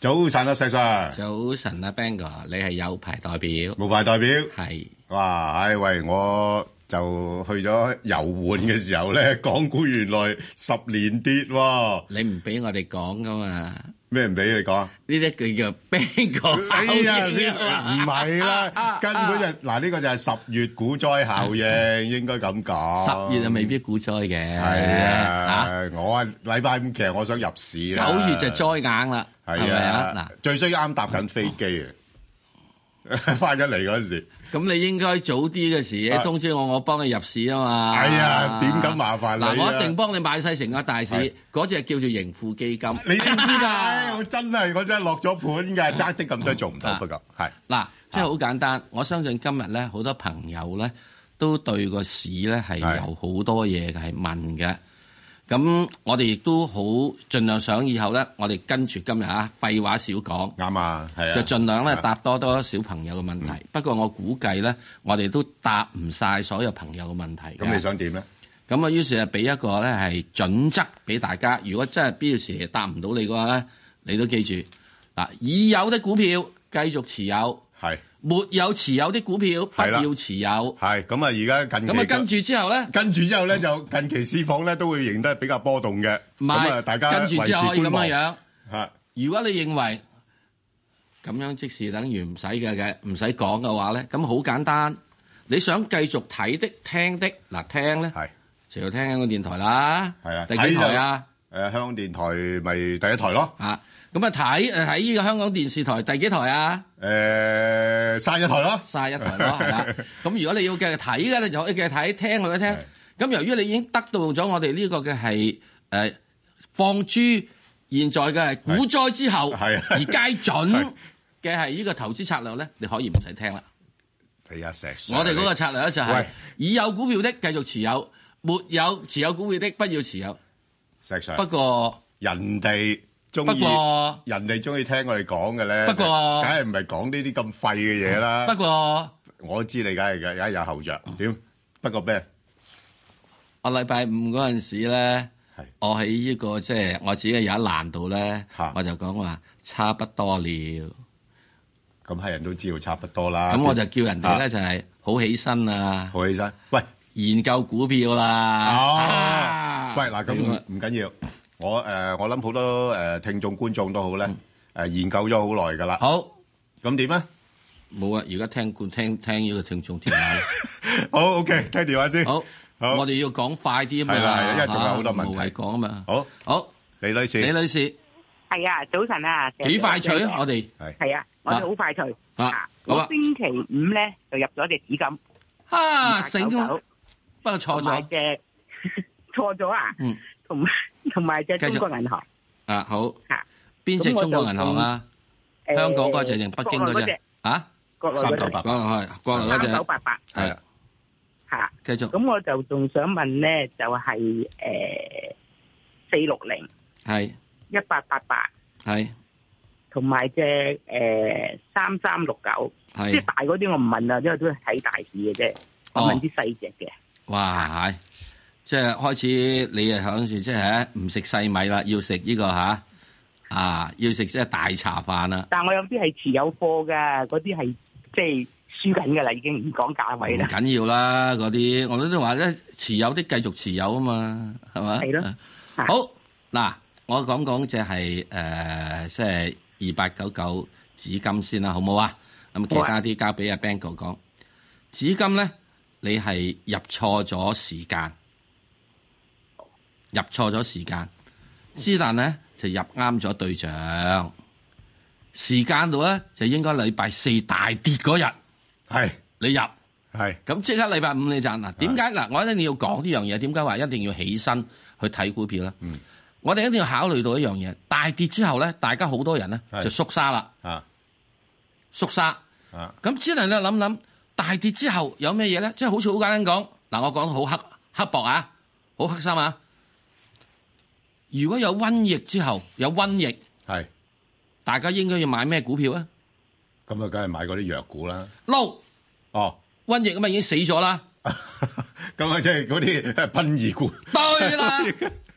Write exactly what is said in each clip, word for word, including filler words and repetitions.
早晨啊，石 Sir。 早晨啊 ，Bang 哥，你係有牌代表， 無牌代表。 係。 哇！唉喂，我就去咗遊玩嘅時候咧，港股原來十年跌喎。 你唔俾我哋講噶嘛？ 咩唔俾你講？ 呢啲叫做 Bang 哥哎呀， 效應啊唔係啦，根本就嗱呢個就係十月股災效應，應該咁講。 十月啊，未必股災嘅。 係啊，我啊禮拜五其實我想入市啦。 九月就災硬啦，係咪啊？嗱， 最衰啱搭緊飛機啊，翻咗嚟嗰陣時。 咁你應該早啲嘅時通知我，我幫你入市啊嘛。 係啊，點咁麻煩你啊？ 嗱，我一定幫你買晒成個大市，嗰隻叫做盈富基金。 你知唔知㗎？我真係我真係落咗盤㗎，爭啲咁多做唔到，不過係嗱，即係好簡單。我相信今日咧，好多朋友咧都對個市咧係有好多嘢係問嘅。咁我哋亦都好盡量想以後咧，我哋跟住今日啊，廢話少講， 啱啊，係啊， 就盡量咧答多多小朋友嘅問題。嗯、不過我估計咧，我哋都答唔晒所有朋友嘅問題。 咁你想點咧？ 咁啊，於是啊，俾一個咧係準則俾大家。如果真係必要時答唔到你嘅話咧，你都記住嗱，已有的股票繼續持有， 係。 沒有持有的股票不要持有。 係咁啊！而家近期咁啊，跟住之後咧， 跟住之後咧就近期市況咧都會形得比較波動嘅。咁啊，大家跟住之後可以咁樣樣。 嚇！ 如果你認為咁樣即是等於唔使嘅嘅，唔使講嘅話咧，咁好簡單。你想繼續睇的、聽的嗱，聽咧，就要聽香港電台啦。 係啊， 第幾台啊？ 誒，香港電台咪第一台咯。 啊！咁啊睇誒睇呢個香港電視台第幾台啊？ 誒，卅一台咯， 卅一台咯，係啦。咁如果你要繼續睇嘅，你就可以繼續睇，聽佢一聽。咁由於你已經得到咗我哋呢個嘅係誒放諸現在嘅係股災之後而皆準嘅係呢個投資策略咧，你可以唔使聽啦。 係啊，石 Sir， 我哋嗰個策略咧就係已有股票的繼續持有，沒有持有股票的不要持有。 石 Sir， 不過人哋。不過人哋中意聽我哋講嘅咧， 不過梗係唔係講呢啲咁廢嘅嘢啦。 不過我知你梗係嘅，梗係有後着。點？不過咩？ 我禮拜五嗰陣時咧，我喺呢個即係我自己有一欄度咧，我就講話差不多了。咁係人都知道差不多啦。 咁我就叫人哋咧就係好起身啊！ 好起身，喂， 研究股票啦。 哦，喂嗱，咁唔緊要。我誒、呃，我諗好多誒、呃、聽眾觀眾都好咧，誒、呃、研究咗好耐噶啦。 好， 咁點咧？ 冇啊！而家聽聽聽聽呢個聽眾電話。 好 OK， 聽電話先。 好， 好， 我哋要講快啲啊嘛。 係啦，因為仲有好多問題。 無謂講啊嘛。 好， 好， 李女士。 李女士。 係啊，早晨啊。 幾快脆啊！我哋係。係啊，我哋好快脆。 啊， 我星期五咧就入咗隻紫金。 啊，醒咗。不過錯咗。 嘅錯咗啊。嗯。同埋。同埋隻中國銀行啊，好嚇，邊隻中國銀行啊？香港嗰隻定北京嗰隻啊？ 三九八八係國內嗰隻。 三九八八係嚇， 繼續。 咁我就仲想問咧，就係誒四六零係一八八八係，同埋隻誒三三六九，即係大嗰啲我唔問啦，因為都係睇大市嘅啫。我問啲細隻嘅。 哇係！即係開始，你係響住即係唔食細米啦，要食呢個吓啊，要食即係大茶飯啦。 但係我有啲係持有貨㗎，嗰啲係即係輸緊㗎啦，已經唔講價位啦。 唔緊要啦，嗰啲我都話咧，持有啲繼續持有啊嘛，係嘛？ 係咯。 好嗱，我講講即係誒，即係二八九九紫金先啦，好唔好啊？咁其他啲交俾阿 Bang 哥講。紫金咧，你係入錯咗時間。入錯咗時間，之但咧就入啱咗對象，時間度咧就應該禮拜四大跌嗰日， 係你入， 係咁即刻禮拜五你賺嗱。點解嗱？我一定要講呢樣嘢，點解話一定要起身去睇股票咧？嗯，我哋一定要考慮到一樣嘢，大跌之後咧，大家好多人咧就縮沙啦，啊，縮沙，啊，咁之但你諗諗，大跌之後有咩嘢咧？即係好似好簡單講，嗱，我講得好黑刻薄啊，好黑心啊！如果有瘟疫之後有瘟疫，係大家應該要買咩股票啊？ 咁啊，梗係買嗰啲藥股啦。 撈哦， 瘟疫咁啊已經死咗啦。 咁啊，即係嗰啲殯儀股。 對啦，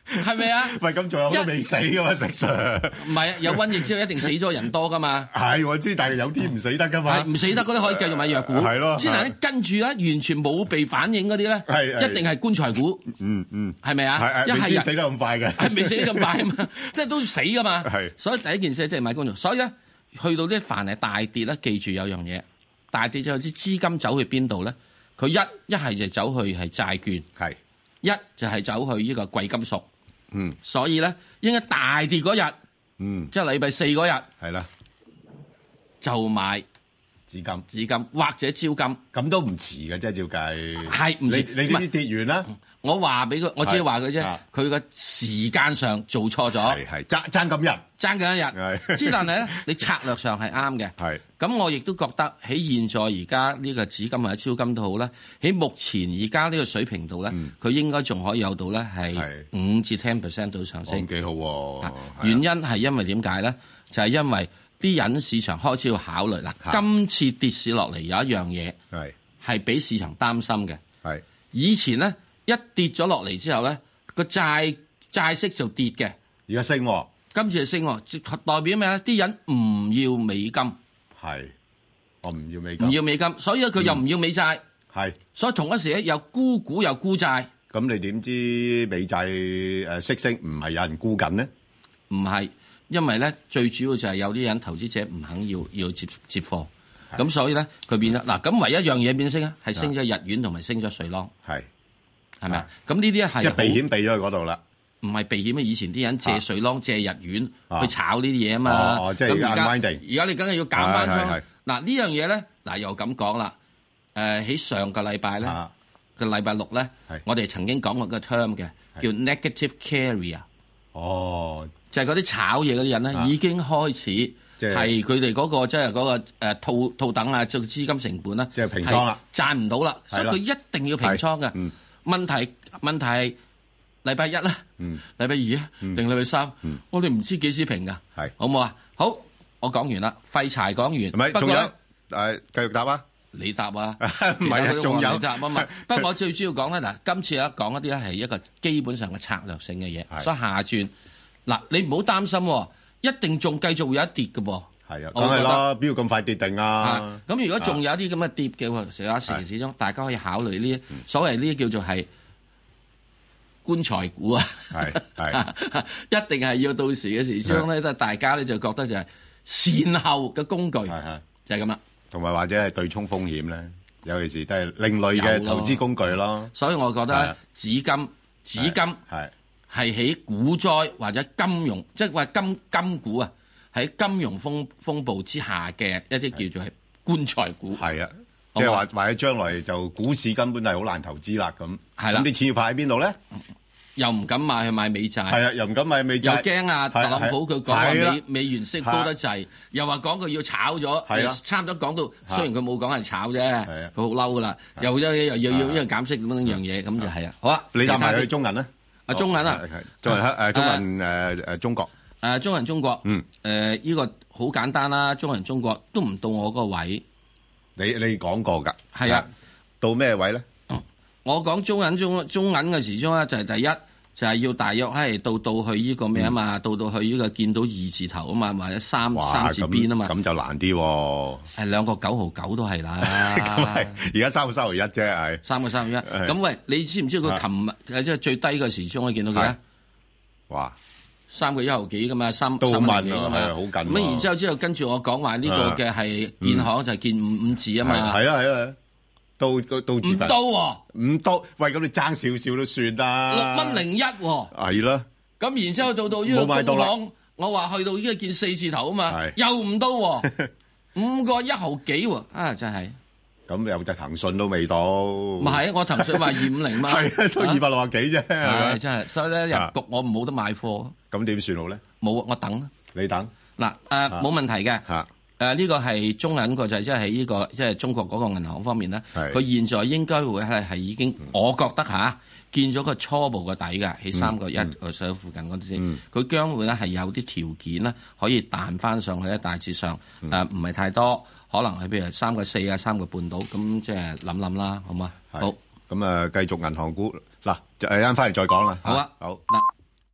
係咪啊？ 喂，咁仲有好多未死噶嘛，石 Sir？ 唔係啊，有瘟疫之後一定死咗人多噶嘛。 係我知，但係有啲唔死得噶嘛。 唔死得嗰啲可以繼續買藥股。係咯。之但跟住咧，完全冇被反應嗰啲咧，一定係棺材股。 嗯嗯。係咪啊？ 係係。未死得咁快嘅。 係未死得咁快啊嘛，即係都死噶嘛。係。所以第一件事即係買棺材。所以咧，去到啲凡係大跌咧，記住有樣嘢，大跌之後啲資金走去邊度咧？佢一一係就走去係債券，係一就係走去呢個貴金屬。嗯，所以咧應該大跌嗰日，嗯，即係禮拜四嗰日，係啦，就買紙金、紙金或者招金，咁都唔遲嘅，即係照計。係唔遲？你你啲跌完啦，我話俾佢，我只係話佢啫。佢個時間上做錯咗，係係爭爭咁日，爭緊一日。之但係咧，你策略上係啱嘅。係咁，我亦都覺得喺現在而家呢個紙金或者超金都好啦。喺目前而家呢個水平度咧，佢應該仲可以有到咧係五至 ten percent 到上升，幾好喎。原因係因為點解咧？就係因為啲人市場開始要考慮啦。今次跌市落嚟有一樣嘢係係俾市場擔心嘅。係以前咧一跌咗落嚟之後咧，個債債息就跌嘅。而家升，今次係升，代表咩咧？啲人唔要美金。係，我唔要美金，唔要美金，所以佢又唔要美債，係、嗯，所以同一時咧又沽股又沽債。咁你點知美債誒息升唔係有人沽緊呢？唔係，因為咧最主要就係有啲人投資者唔肯要要接接貨，咁所以咧佢變咗嗱，咁唯一一樣嘢變升啊，係升咗日元同埋升咗瑞郎，係，係咪啊？咁呢啲係即係避險避咗去嗰度啦。唔係避險啊！以前啲人借瑞郎、借日元去炒呢啲嘢啊嘛。哦，即係而家而家你梗係要減翻倉。嗱呢樣嘢咧，嗱又咁講啦。誒喺上個禮拜咧，個禮拜六咧，我哋曾經講過個 term 嘅，叫 negative carrier。哦，就係嗰啲炒嘢嗰啲人咧，已經開始係佢哋嗰個即係嗰個誒套套等啊，即係資金成本啦，即係平倉啦，賺唔到啦，所以佢一定要平倉嘅。問題問題係。禮拜一啦，嗯，禮拜二啊，定禮拜三，嗯，我哋唔知幾時平噶，係，好唔好啊？好，我講完啦，廢柴講完，唔係，仲有，誒，繼續答啊，你答啊，唔係啊，仲有答啊嘛，不過我最主要講咧，嗱，今次咧講一啲咧係一個基本上嘅策略性嘅嘢，所以下轉，嗱，你唔好擔心，一定仲繼續會有一跌嘅噃，係啊，梗係啦，邊要咁快跌定啊？咁如果仲有一啲咁嘅跌嘅，成日時時鐘，大家可以考慮呢啲所謂呢啲叫做係。棺材股啊，係係一定係要到時嘅時將咧，即係大家咧就覺得就係善後嘅工具，係係就係咁啦。同埋或者係對沖風險咧，尤其是都係另類嘅投資工具咯。所以我覺得咧，紙金紙金係係喺股災或者金融，即係話金金股啊，喺金融風風暴之下嘅一啲叫做係棺材股。係啊，即係話或者將來就股市根本係好難投資啦。咁係啦，咁啲錢要派喺邊度咧？又唔敢買去買美債，係啊，又唔敢買美債，又驚啊！特朗普佢講話美美元息高得滯，又話講佢要炒咗，係啊，差唔多講到，雖然佢冇講係炒啫，佢好嬲噶啦，又又又要要因為減息咁樣樣嘢，咁就係啊，好啊，你答埋去中銀啦，啊中銀啊，中銀誒中銀誒誒中國，誒中銀中國，嗯，誒呢個好簡單啦，中銀中國都唔到我嗰個位，你你講過㗎，係啊，到咩位咧？我講中銀中中銀嘅時鐘咧，就係第一就係要大約係到到去呢個咩啊嘛，到到去呢個見到二字頭啊嘛，或者三三字邊啊嘛，咁就難啲喎。係兩個九毫九都係啦。咁係而家三個三毫一啫，係三個三毫一。咁喂，你知唔知佢琴日即係最低嘅時鐘我見到幾啊？哇，三個一毫幾噶嘛，三都好慢㗎嘛，好緊。咁然之後之後跟住我講話呢個嘅係建行就係建五五字啊嘛。係啊係啊。到到到唔到喎，唔到，喂，咁你爭少少都算啦，六蚊零一喎，係啦。咁然之後到到呢個工行，我話去到呢個見四字頭啊嘛，又唔到喎，五個一毫幾喎，啊真係。咁有隻騰訊都未到。唔係，我騰訊話二五零嘛，係都二百六十幾啫，係真係。所以咧入局我冇得買貨。咁點算好咧？冇，我等。你等。嗱誒，冇問題嘅。誒、呃、呢、這個係中銀個就係即係喺呢個即係、就是、中國嗰個銀行方面咧，佢現在應該會係係已經，我覺得嚇見咗個初步嘅底嘅喺三個一個上附近嗰啲先，佢、嗯、將會咧係有啲條件咧可以彈翻上去咧，大致上誒唔係太多，可能係譬如三個四啊三個半到，咁即係諗諗啦，好嘛？好，咁啊繼續銀行股嗱，就誒啱翻嚟再講啦。好啊，好嗱。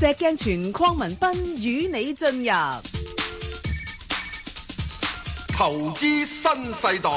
石鏡泉鄺民彬與你進入投資新世代。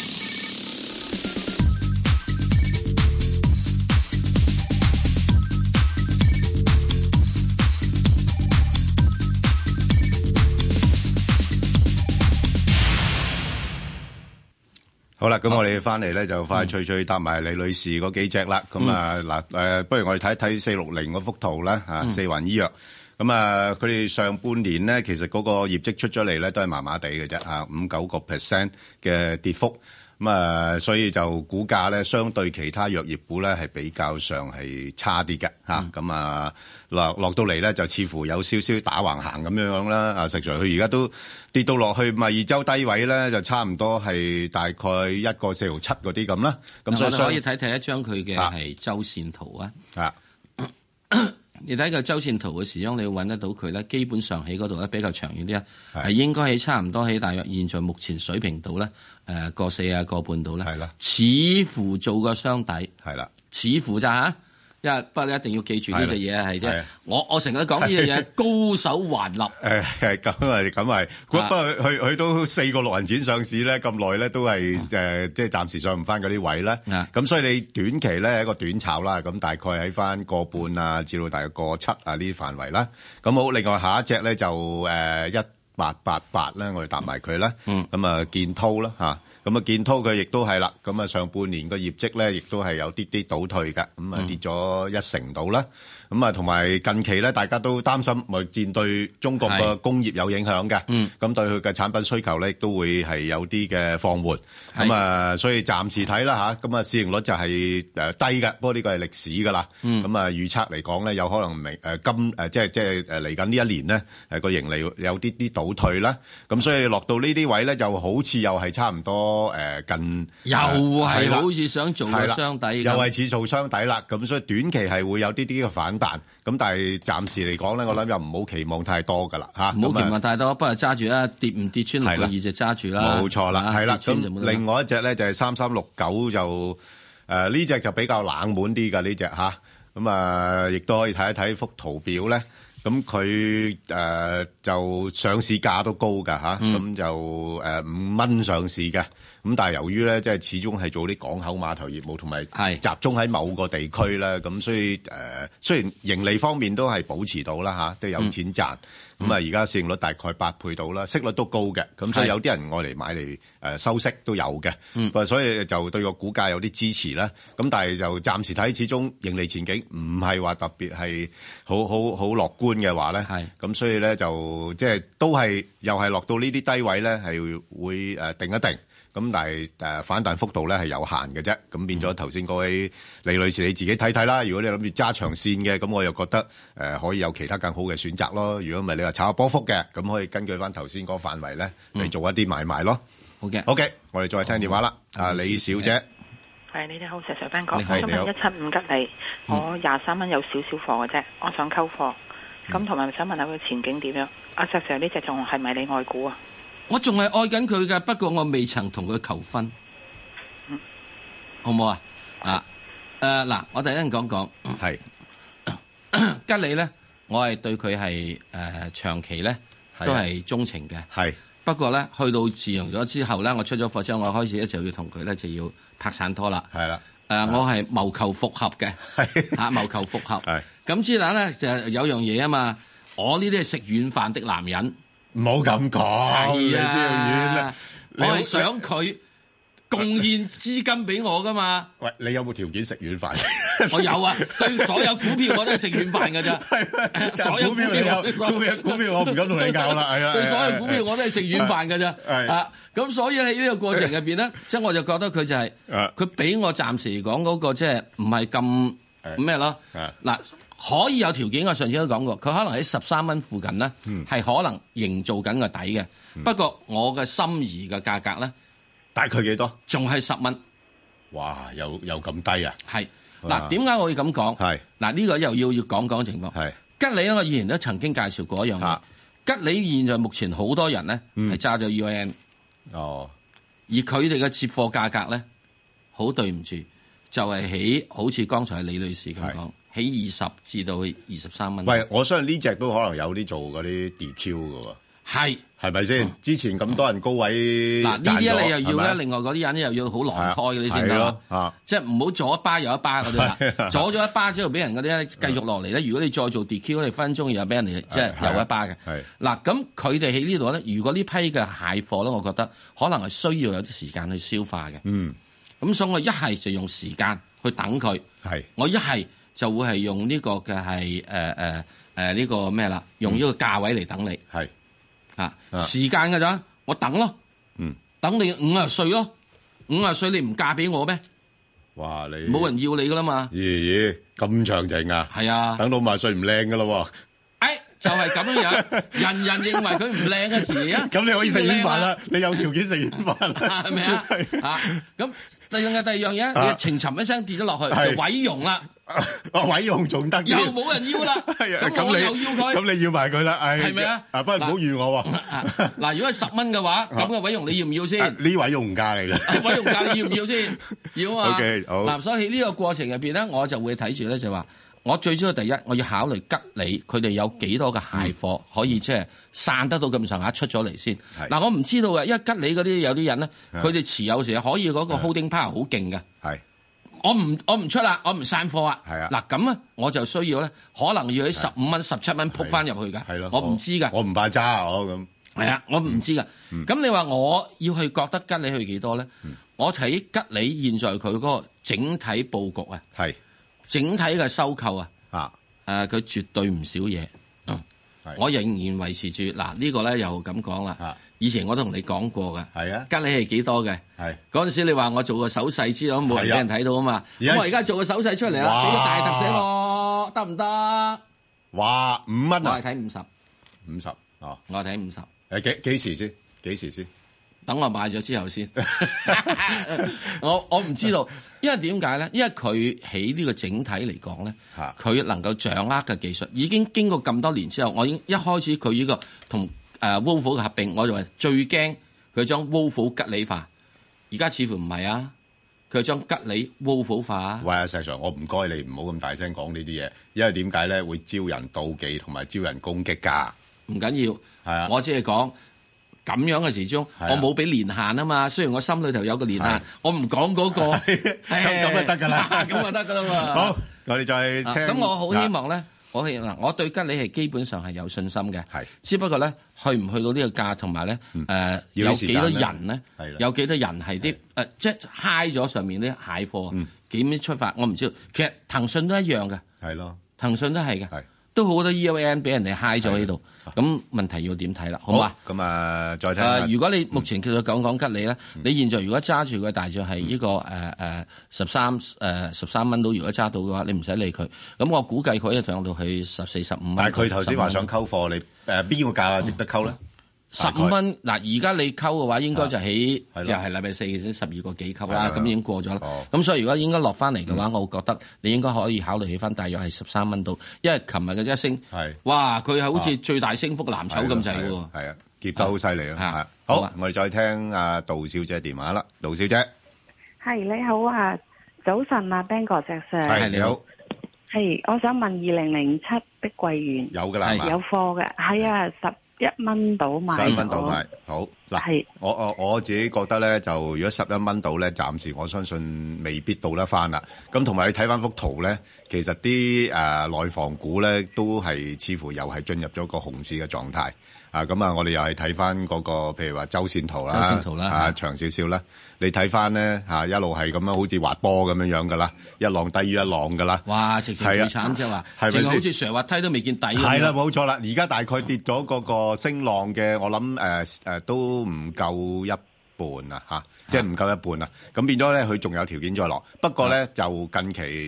好啦，咁我哋翻嚟咧就快脆脆搭埋李女士嗰幾隻啦。咁啊嗱誒，不如我哋睇一睇四六零嗰幅圖啦嚇，四環醫藥。咁啊，佢哋上半年咧，其實嗰個業績出咗嚟咧，都係麻麻地嘅啫嚇，五九個 percent 嘅跌幅。咁啊，所以就股價咧，相對其他藥業股咧，係比較上係差啲嘅嚇。咁啊，落落到嚟咧，就似乎有少少打橫行咁樣樣啦。啊，實在佢而家都跌到落去咪二周低位咧，就差唔多係大概一個四毫七嗰啲咁啦。咁所以可以睇睇一張佢嘅係周線圖啊。 啊， 你睇個周線圖嘅時候，你要揾得到佢咧，基本上喺嗰度咧比較長遠啲啊，係應該喺差唔多喺大約現在目前水平度咧，誒個四啊個半度咧，係啦，似乎做個雙底， 係啦， 似乎咋嚇？因為不過你一定要記住呢個嘢係啫，我我成日講呢樣嘢高手橫立。 誒咁係咁係，不過佢佢都四個六銀錢上市咧，咁耐咧都係誒即係暫時上唔翻嗰啲位咧。咁所以你短期咧係一個短炒啦，咁大概喺翻個半啊，至到大概個七啊呢啲範圍啦。咁好，另外下一隻咧就誒一八八八咧，我哋搭埋佢啦。咁啊建滔啦嚇。咁啊，建滔佢亦都係啦，咁啊上半年個業績咧，亦都係有啲啲倒退嘅，咁啊跌咗一成度啦。咁啊，同埋近期咧，大家都擔心貿易戰對中國嘅工業有影響嘅，咁對佢嘅產品需求咧，亦都會係有啲嘅放緩。咁啊，所以暫時睇啦嚇，咁啊市盈率就係誒低嘅，不過呢個係歷史㗎啦。咁啊預測嚟講咧，有可能明誒今誒即係即係誒嚟緊呢一年咧，誒個盈利有啲啲倒退啦。咁所以落到呢啲位咧，就好似又係差唔多誒近， 又係好似想做個雙底， 又係似做雙底啦。咁所以短期係會有啲啲嘅反彈。咁但係暫時嚟講咧，我諗又唔好期望太多噶啦嚇， 唔好期望太多，不過揸住啦，跌唔跌穿六個二就揸住啦。 冇錯啦，係啦。咁另外一隻咧就係三三六九就誒呢隻就比較冷門啲㗎呢隻嚇，咁啊亦都可以睇一睇幅圖表咧。咁佢誒就上市價都高㗎嚇，咁、嗯、就誒五蚊上市嘅。咁但係由於咧，即係始終係做啲港口碼頭業務，同埋集中喺某個地區咧，咁所以誒、呃、雖然盈利方面都係保持到啦嚇，都有錢賺。咁啊而家市盈率大概八倍到啦，息率都高嘅。咁所以有啲人愛嚟買嚟誒收息都有嘅。嗯，所以就對個股價有啲支持啦。咁但係就暫時睇，始終盈利前景唔係話特別係好好好樂觀嘅話咧。係。咁所以咧就即係都係又係落到呢啲低位咧，係會誒定一定。咁但係誒反彈幅度咧係有限嘅啫，咁變咗頭先嗰位李女士你自己睇睇啦。如果你諗住揸長線嘅，咁我又覺得誒可以有其他更好嘅選擇咯。如果唔係你話炒下波幅嘅，咁可以根據翻頭先嗰個範圍咧嚟做一啲買賣咯。 好嘅， 好嘅，我哋再聽電話啦。啊，李小姐， 係你哋好，石 Sir 彬哥，我想問一七五吉利，我廿三蚊有少少貨嘅啫，我想溝貨，咁同埋想問下佢前景點樣？阿石 Sir 呢隻仲係咪你愛股啊？ 我仲係愛緊佢㗎，不過我未曾同佢求婚，嗯、好唔好啊？啊，誒嗱，我第一陣講講，係吉利咧，我係對佢係誒長期咧都係鍾情嘅，係。不過咧，去到自用咗之後咧，我出咗貨之後，我開始咧就要同佢咧就要拍散拖啦，係啦。誒、呃，我係謀求復合嘅，嚇謀求復合。係。咁之但咧就有樣嘢啊嘛，我呢啲係食軟飯的男人。 唔好咁講， 係啊！我係想佢貢獻資金俾我噶嘛。喂， 你有冇條件食軟飯？ 我有啊，對所有股票我都係食軟飯㗎咋。所有股票有股票股票我唔敢同你講啦，係啊。 對所有股票我都係食軟飯㗎咋。係啊，咁所以喺呢個過程入邊咧，即係我就覺得佢就係佢俾我暫時嚟講嗰個即係唔係咁咩咯。嗱。可以有條件，我上次都講過，佢可能喺十三蚊附近咧，係、嗯、可能營造緊個底嘅、嗯。不過我嘅心儀嘅價格咧， 大概幾多？ 仲係十蚊。 哇！又又咁低啊？係嗱，點解我會咁講？係嗱，呢、呢個又要要講講情況。係吉利咧，我以前都曾經介紹過一樣嘢。吉利現在目前好多人咧係揸咗 U N 哦，而佢哋嘅接貨價格咧，好對唔住， 就係起好似剛才李女士咁講，起二十至到二十三蚊。 喂，我相信呢隻都可能有啲做嗰啲 D Q 㗎喎。 係。 係咪先？之前咁多人高位嗱，呢啲你又要咧，另外嗰啲人咧又要好狼胎嗰啲先得啦。即係唔好左一巴右一巴嗰啲啦。左咗一巴之後俾人嗰啲咧繼續落嚟咧。如果你再做 D Q，你分鐘又俾人哋即係又一巴嘅。嗱，咁佢哋喺呢度咧，如果呢批嘅蟹貨咧，我覺得可能係需要有啲時間去消化嘅。嗯。咁所以我一係就用時間去等佢。係。我一係就會係用呢個嘅係誒誒誒呢個咩啦？用呢個價位嚟等你。係。啊，時間㗎咋？我等咯，嗯，等你五十歲咯，五十歲你唔嫁俾我咩？ 哇，你冇人要你噶啦嘛？ 咦咦，咁長情啊？ 係啊， 等到五十歲唔靚噶咯？ 哎，就係咁樣樣，人人認為佢唔靚嘅時啊， 咁你可以食軟飯啦，你有條件食軟飯啦， 係咪啊？啊，咁第二樣第二樣嘢，你情沉一聲跌咗落去就毀容啦。 啊，毀容仲得， 又冇人要啦。咁我又要佢， 咁你要埋佢啦， 係咪啊？ 啊，不過唔好預我喎。 嗱，如果係十蚊嘅話，咁嘅毀容你要唔要先？ 呢毀容價嚟嘅， 毀容價你要唔要先？要啊嘛。 OK，好。 嗱，所以呢個過程入邊咧，我就會睇住咧，就話我最主要第一，我要考慮吉利佢哋有幾多嘅蟹貨可以即係散得到咁上下出咗嚟先。嗱，我唔知道嘅，因為吉利嗰啲有啲人咧，佢哋持有時可以嗰個 holding power 好勁嘅。係。我唔我唔出啦，我唔散貨啊。係啊，嗱咁啊，我就需要咧，可能要喺十五蚊、十七蚊撲翻入去㗎。係咯，我唔知㗎。 我唔怕揸我咁。係啊，我唔知㗎。咁你話我要去覺得吉利去幾多咧？我睇吉利現在佢嗰個整體佈局啊，係整體嘅收購啊，啊誒，佢絕對唔少嘢。我仍然維持住嗱呢個咧，又咁講啦。以前我都同你講過嘅，係啊，吉利係幾多嘅？係嗰陣時你話我做個手勢之後冇人俾人睇到啊嘛，咁我而家做個手勢出嚟啦，俾個大特寫我得唔得？哇，五蚊啊！我係睇五十，五十哦，我係睇五十。誒幾幾時先？幾時先？等我買咗之後先。我我唔知道，因為點解咧？因為佢喺呢個整體嚟講咧，佢能夠掌握嘅技術已經經過咁多年之後，我已經一開始佢呢個同誒 Volvo 嘅合併，我就話最驚佢將 Volvo 吉利化。而家似乎唔係啊，佢將吉利 Volvo 化。喂啊，石 Sir，我唔該你唔好咁大聲講呢啲嘢，因為點解咧會招人妒忌同埋招人攻擊㗎？唔緊要，係啊，我只係講。咁樣嘅時鐘，我冇俾年限啊嘛。雖然我心裏頭有個年限，我唔講嗰個，咁咁就得㗎啦，咁就得㗎啦嘛。好，我哋再聽。咁我好希望咧，我希嗱，我對吉利係基本上係有信心嘅，係。只不過咧，去唔去到呢個價，同埋咧，誒有幾多人咧？有幾多人係啲誒，即係嗨咗上面啲蟹貨，幾點出發？我唔知道。其實騰訊都一樣嘅，係咯，騰訊都係嘅，都好多 E O N 俾人哋嗨咗喺度。咁問題要點睇啦？好嘛？咁啊，再睇。誒，如果你目前叫做講講吉利咧，你現在如果揸住佢大約係呢個誒誒十三誒十三蚊到，如果揸到嘅話，你唔使理佢。咁我估計佢一上到去十四十五蚊。但係佢頭先話想溝貨，你誒邊個價值得溝咧？十五蚊嗱，而家你溝嘅話，應該就喺就係禮拜四先十二個幾溝啦，咁已經過咗啦。咁所以如果應該落翻嚟嘅話，我覺得你應該可以考慮起翻大約係十三蚊到，因為琴日嘅一升，哇，佢係好似最大升幅藍籌咁滯嘅喎。係啊，跌得好犀利咯。係好，我哋再聽阿杜小姐電話啦。杜小姐， 係你好啊，早晨啊 ，Ben 哥石 Sir。 係你好。 係，我想問二零零七碧桂園有㗎啦， 有貨嘅，係啊十。一蚊到買，十一蚊到買，好嗱。我我我自己覺得咧，就如果十一蚊到咧，暫時我相信未必到得翻啦。咁同埋你睇翻幅圖咧，其實啲誒內房股咧都係似乎又係進入咗個熊市嘅狀態啊。咁啊，我哋又係睇翻嗰個譬如話周線圖啦，周線圖啦啊長少少啦。你睇翻咧嚇一路係咁樣好似滑波咁樣樣噶啦，一浪低於一浪噶啦。哇！直情最慘即係話，係咪好似上滑梯都未見底？係啦，冇錯啦。而家大概跌咗嗰個升浪嘅，我諗誒誒都唔夠一半啊嚇，即係唔夠一半啊。咁變咗咧，佢仲有條件再落。不過咧就近期跌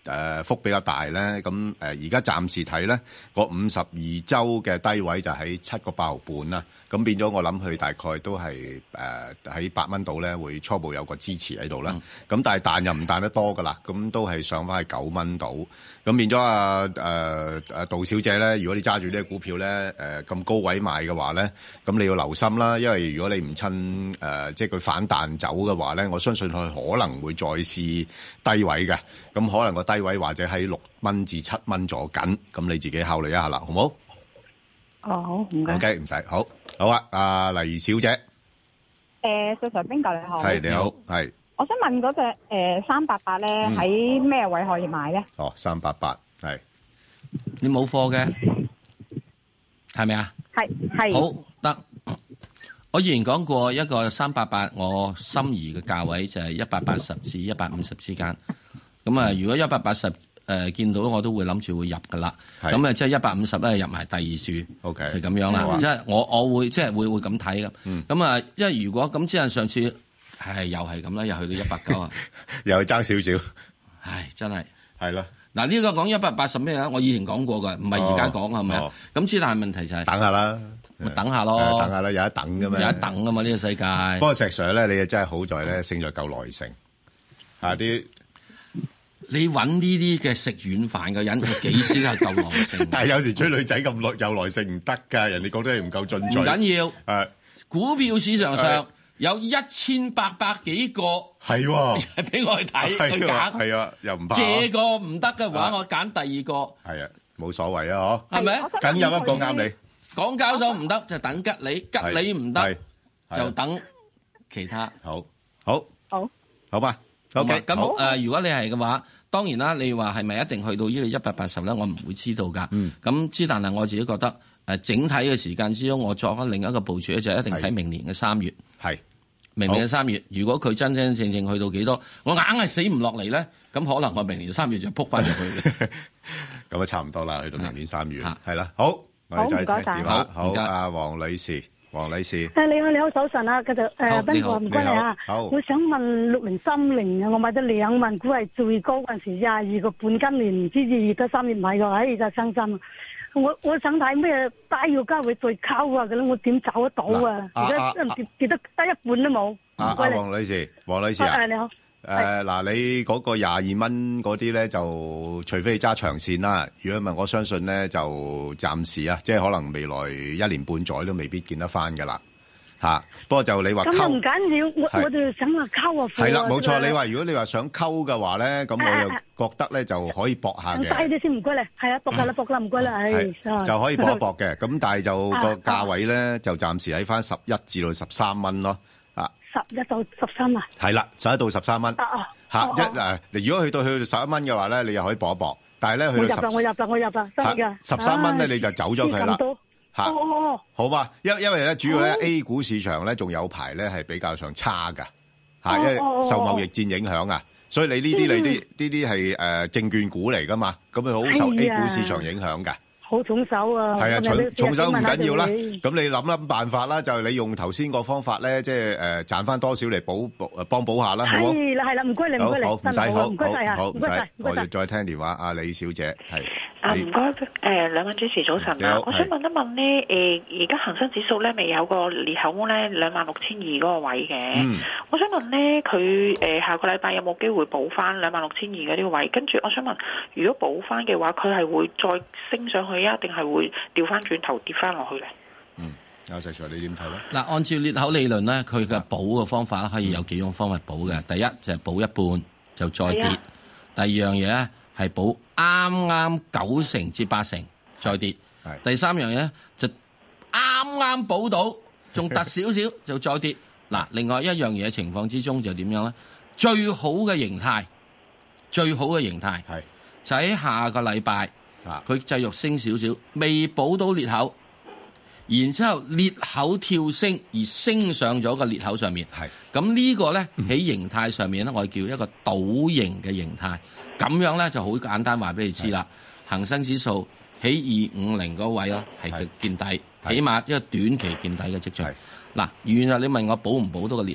誒幅比較大咧，咁誒而家暫時睇咧個五十二週嘅低位就喺七個八毫半啦，咁變咗我諗佢大概都係誒喺八蚊度咧會初步有個支持喺度啦，咁、嗯、但係彈又唔彈得多噶啦，咁都係上翻去九蚊度，咁變咗啊誒誒杜小姐咧，如果你揸住呢個股票咧誒咁高位買嘅話咧，咁你要留心啦，因為如果你唔趁誒、呃、即係佢反彈走嘅話咧，我相信佢可能會再試低位嘅，咁可能個低位或者喺六蚊至七蚊左緊，咁你自己考慮一下啦，好唔好？ 哦，好，唔該。 OK，唔使，好，好啊，阿黎小姐。 誒，石 Sir 邊個你好？ 係你好，係。 我想問嗰隻誒三八八咧，喺咩位可以買咧？ 哦，三八八係。 你冇貨嘅，係咪啊？ 係係。 好得。我以前講過一個三八八，我心儀嘅價位就係一百八十至一百五十之間。咁啊，如果一百八十誒見到，我都會諗住會入噶啦。咁啊，即係一百五十咧入埋第二注。O K，就咁樣啦。即係我我會即係會會咁睇噶。咁啊，因為如果咁，即係上次係又係咁啦，又去到一百九啊， 又爭少少。 唉，真係係咯。嗱， 呢個講一百八十咩啊？我以前講過噶，唔係而家講係咪啊？咁之但係問題就係等下啦。 咪等下咯， 等下啦，有得等噶嘛， 有得等噶嘛呢個世界。 不過石 Sir 咧，你真係好在咧，勝在夠耐性。啊啲， 你揾呢啲嘅食軟飯嘅人，佢幾時係夠耐性？ 但係有時追女仔咁耐有耐性唔得㗎，人哋覺得你唔夠進取。 唔緊要， 誒， 股票市場上有一千八百幾個係喎， 俾我去睇去揀。 係啊，又唔怕。 借個唔得嘅話，我揀第二個。 係啊，冇所謂啊，嗬。 係咪？ 梗有一個啱你。 港交所唔得就等吉利，吉利唔得就等其他。 好，好， 好， 好吧。OK， 咁誒，如果你係嘅話，當然啦，你話係咪一定去到呢個一百八十咧？我唔會知道㗎。嗯。咁之但係我自己覺得誒，整體嘅時間之中，我作咗另一個部署咧，就一定睇明年嘅三月。係。明年嘅三月，如果佢真真正正去到幾多，我硬係死唔落嚟咧，咁可能我明年三月就撲翻入去嘅。 咁啊，差唔多啦，去到明年三月係啦。好。 好，唔該晒。 好，好，阿黃女士，黃女士。 誒，你好，你好，早晨啊，繼續誒，邊個唔該你啊？ 好。 我想問六零三零啊，我買咗兩萬股係最高嗰陣時廿二個半，今年唔知二月得三月買嘅，唉，就傷心。我我想睇咩低要價會再溝啊，咁我點找得到啊？而家跌跌得得一半都冇。 阿黃女士，黃女士啊。 誒，你好。 誒，嗱，你嗰個廿二蚊嗰啲咧，就除非你揸長線啦。如果唔係，我相信咧就暫時啊，即係可能未來一年半載都未必見得翻噶啦。吓，不過就你話溝， 咁唔緊要，我我就想話溝啊。 係啦，冇錯。你話如果你話想溝嘅話咧，咁我又覺得咧就可以搏下嘅。 低啲先，唔該你。係啊，搏下啦，搏啦，唔該啦，係。 就可以搏一搏嘅。咁但係就個價位咧，就暫時喺翻十一至到十三蚊咯。 十一到十三啊， 係啦，十一到十三蚊。 啊啊， 吓一誒，如果去到去到十一蚊嘅話咧，你又可以搏一搏。但係咧去到十， 我入啦，我入啦，我入啦，真嘅。 十三蚊咧，你就走咗佢啦。吓，好嘛？因因為咧，主要咧 A 股市場咧仲有排咧係比較上差噶，吓，因為受貿易戰影響啊，所以你呢啲你啲呢啲係誒證券股嚟噶嘛，咁佢好受 A 股市場影響嘅。 好重手啊！ 係啊，重重手唔緊要啦。咁你諗諗辦法啦，就係你用頭先個方法咧，即係誒賺翻多少嚟補補幫補下啦，好冇？ 係啦係啦，唔該你唔該你， 好唔使好， 唔該晒啊， 唔使，我哋再聽電話。阿李小姐係啊，唔該誒，兩位主持早晨啊，我想問一問咧誒，而家恒生指數咧未有個裂口咧兩萬六千二嗰個位嘅，我想問咧佢誒下個禮拜有冇機會補翻兩萬六千二嘅呢個位？跟住我想問，如果補翻嘅話，佢係會再升上去？一定係會調翻轉頭跌翻落去咧。 嗯，阿石 Sir 你點睇咧？ 嗱，按照裂口理論咧，佢嘅補嘅方法可以有幾種方法補嘅。第一就係補一半就再跌。第二樣嘢咧係補啱啱九成至八成再跌。第三樣嘢咧就啱啱補到，仲突少少就再跌。嗱，另外一樣嘢情況之中就點樣咧？最好嘅形態，最好嘅形態係就喺下個禮拜。佢繼續升少少，未補到裂口，然之後裂口跳升而升上咗個裂口上面。係咁呢個咧喺形態上面咧，我叫一個倒形嘅形態。咁樣咧就好簡單話俾你知啦。恒生指數喺二五零嗰位咯，係嘅見底，起碼一個短期見底嘅跡象。嗱，原來你問我補唔補到個裂口，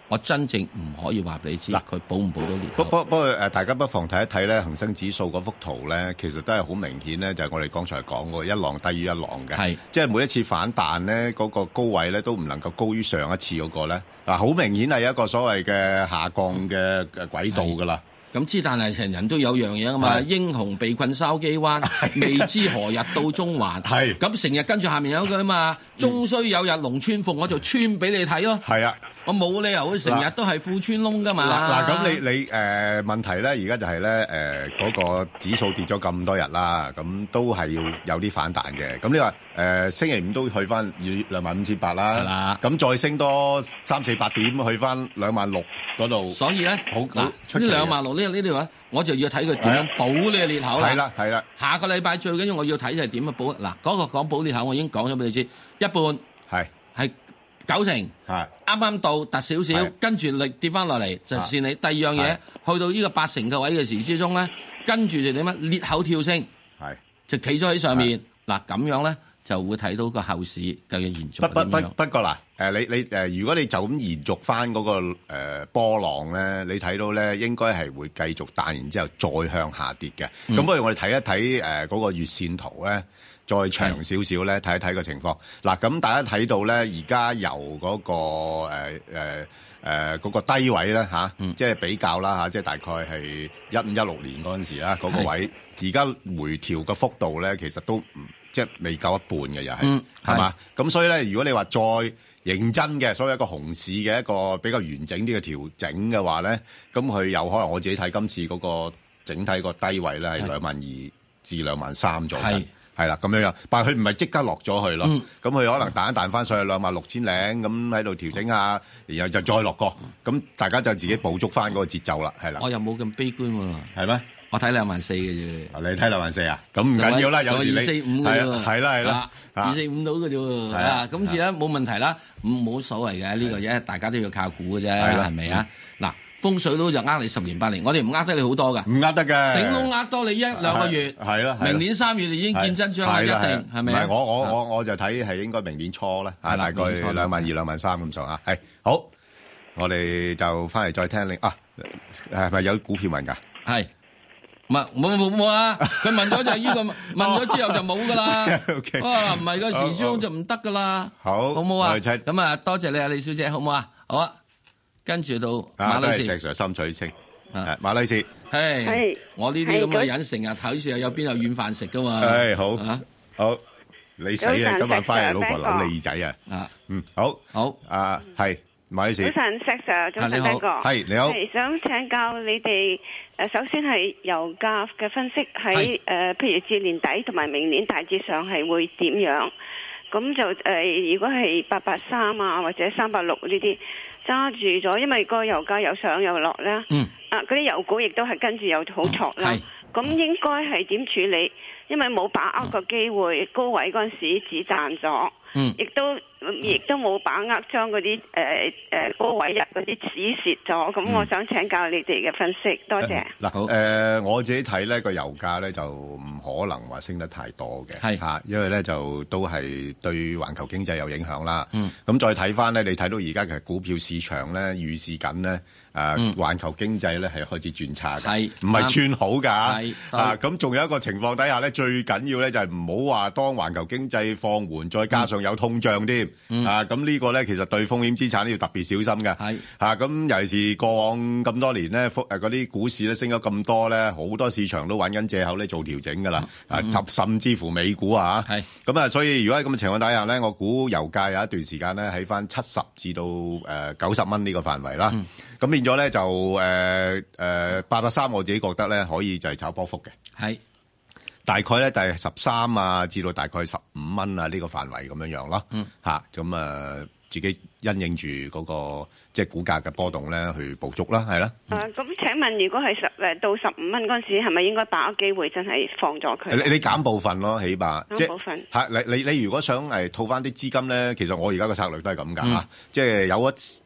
我真正唔可以話俾你知，佢保唔保到年。 不不不過誒，大家不妨睇一睇咧，恒生指數嗰幅圖咧，其實都係好明顯咧，就係我哋剛才講過一浪低於一浪嘅，係即係每一次反彈咧，嗰個高位咧都唔能夠高於上一次嗰個咧，嗱好明顯係一個所謂嘅下降嘅嘅軌道㗎啦。 咁之但係人人都有樣嘢啊嘛，英雄被困筲箕灣，未知何日到中環。係咁成日跟住下面有句啊嘛，終須有日龍穿鳳，我就穿俾你睇咯。係啊，我冇理由佢成日都係褲穿窿噶嘛。 嗱咁你你誒、呃、問題咧，而家就係咧誒嗰個指數跌咗咁多日啦，咁都係要有啲反彈嘅。咁你話誒、呃、星期五都去翻兩萬五千八啦，係啦，咁再升多三四百點去翻兩萬六嗰度。所以咧，好嗱呢兩萬六呢呢度啊，我就要睇佢點樣補呢個裂口啦。係啦係啦，下個禮拜最緊要我要睇就係點樣補。嗱嗰個講補裂口，我已經講咗俾你知，一半係係九成，係啱啱到突少少，跟住力跌翻落嚟就算你。第二樣嘢去到呢個八成嘅位嘅時之中咧，跟住就點啊？裂口跳升，係就企咗喺上面。嗱咁樣咧就會睇到個後市究竟延續。不不不不過嗱，誒你你誒，如果你就咁延續翻嗰個誒波浪咧，你睇到咧應該係會繼續彈，然之後再向下跌嘅。咁不如我哋睇一睇誒嗰個月線圖咧。再長少少咧，睇一睇個情況。嗱，咁大家睇到咧，而家由嗰個誒誒誒嗰個低位咧嚇，即係比較啦嚇，即係大概係一五一六年嗰陣時啦，嗰個位，而家回調嘅幅度咧，其實都唔即係未夠一半嘅，又係係嘛？咁所以咧，如果你話再認真嘅，所謂一個熊市嘅一個比較完整啲嘅調整嘅話咧，咁佢有可能我自己睇今次嗰個整體個低位咧係兩萬二至兩萬三左右。係啦，咁樣樣，但係佢唔係即刻落咗去咯，咁佢、嗯、可能彈一彈翻上去兩萬六千零，咁喺度調整下，然後就再落過，咁大家就自己捕捉翻嗰個節奏啦，係啦。 我又冇咁悲觀喎， 係咩？我睇兩萬四嘅啫。 你睇兩萬四啊？咁唔緊要啦，有時你二四五嘅啫， 係啦係啦， 二四五到嘅啫喎，啊，今次咧冇問題啦，冇所謂嘅呢個嘢，大家都要靠估嘅啫，係咪啊？嗱。風水佬就呃你十年八年，我哋唔呃得你好多噶， 唔呃得嘅， 頂籠呃多你一兩個月，係啦，明年三月你已經見真章啦，一定係咪？唔係我我我我就睇係應該明年初啦，啊大概兩萬二兩萬三咁上下，係好，我哋就翻嚟再聽你啊，係咪有股票問㗎？係，唔係冇冇冇啊？佢問咗就係呢個，問咗之後就冇噶啦。哇，唔係個時鐘就唔得噶啦。好，好唔好啊？咁啊，多謝你啊，李小姐，好唔好啊？好啊。跟住到馬女士，石 Sir 心水清，啊馬女士，係，我呢啲咁嘅人成日睇住有邊有軟飯食噶嘛，係好，好，你死啊！今晚翻嚟老婆扭你耳仔啊，啊，嗯，好，好，啊，係馬女士，早晨石 Sir，早晨第一個，係你好，係想請教你哋，誒，首先係油價嘅分析喺誒，譬如至年底同埋明年大致上係會點樣？咁就誒，如果係八八三啊或者三八六呢啲。揸住咗，因為個油價又上又落啦。嗯。啊，嗰啲油股亦都係跟住又好挫啦。咁應該係點處理？因為冇把握個機會，高位嗰陣時只賺咗。嗯。亦都亦都冇把握將嗰啲誒誒高位入嗰啲止蝕咗。咁我想請教你哋嘅分析，多謝。嗱，好。誒，我自己睇咧個油價咧就唔可能話升得太多嘅。係嚇，因為咧就都係對環球經濟有影響啦。嗯。咁再睇翻咧，你睇到而家嘅股票市場咧預示緊咧。誒、啊，環球經濟咧係開始轉差嘅，唔係轉好㗎。啊，咁仲有一個情況底下咧，最緊要咧就係唔好話當環球經濟放緩，再加上有通脹添。嗯、啊，咁呢個咧其實對風險資產都要特別小心嘅。係啊，咁尤其是過往咁多年咧，誒嗰啲股市咧升咗咁多咧，好多市場都揾緊藉口咧做調整㗎啦。啊，甚、嗯、甚至乎美股啊，係咁啊，所以如果喺咁嘅情況底下咧，我估油價有一段時間咧喺翻七十至到誒九十蚊呢個範圍啦。嗯咁變咗咧就誒誒八百三，我自己覺得咧可以就係炒波幅嘅，係大概咧就係十三啊至到大概十五蚊啊呢個範圍咁樣樣咯，嗯嚇咁啊自己因應住嗰個即係股價嘅波動咧去捕捉啦，係啦。誒咁請問，如果係十誒到十五蚊嗰陣時，係咪應該把握機會真係放咗佢？你你減部分咯，起碼減部分嚇。你你你如果想誒套翻啲資金咧，其實我而家嘅策略都係咁㗎嚇，即係有一誒。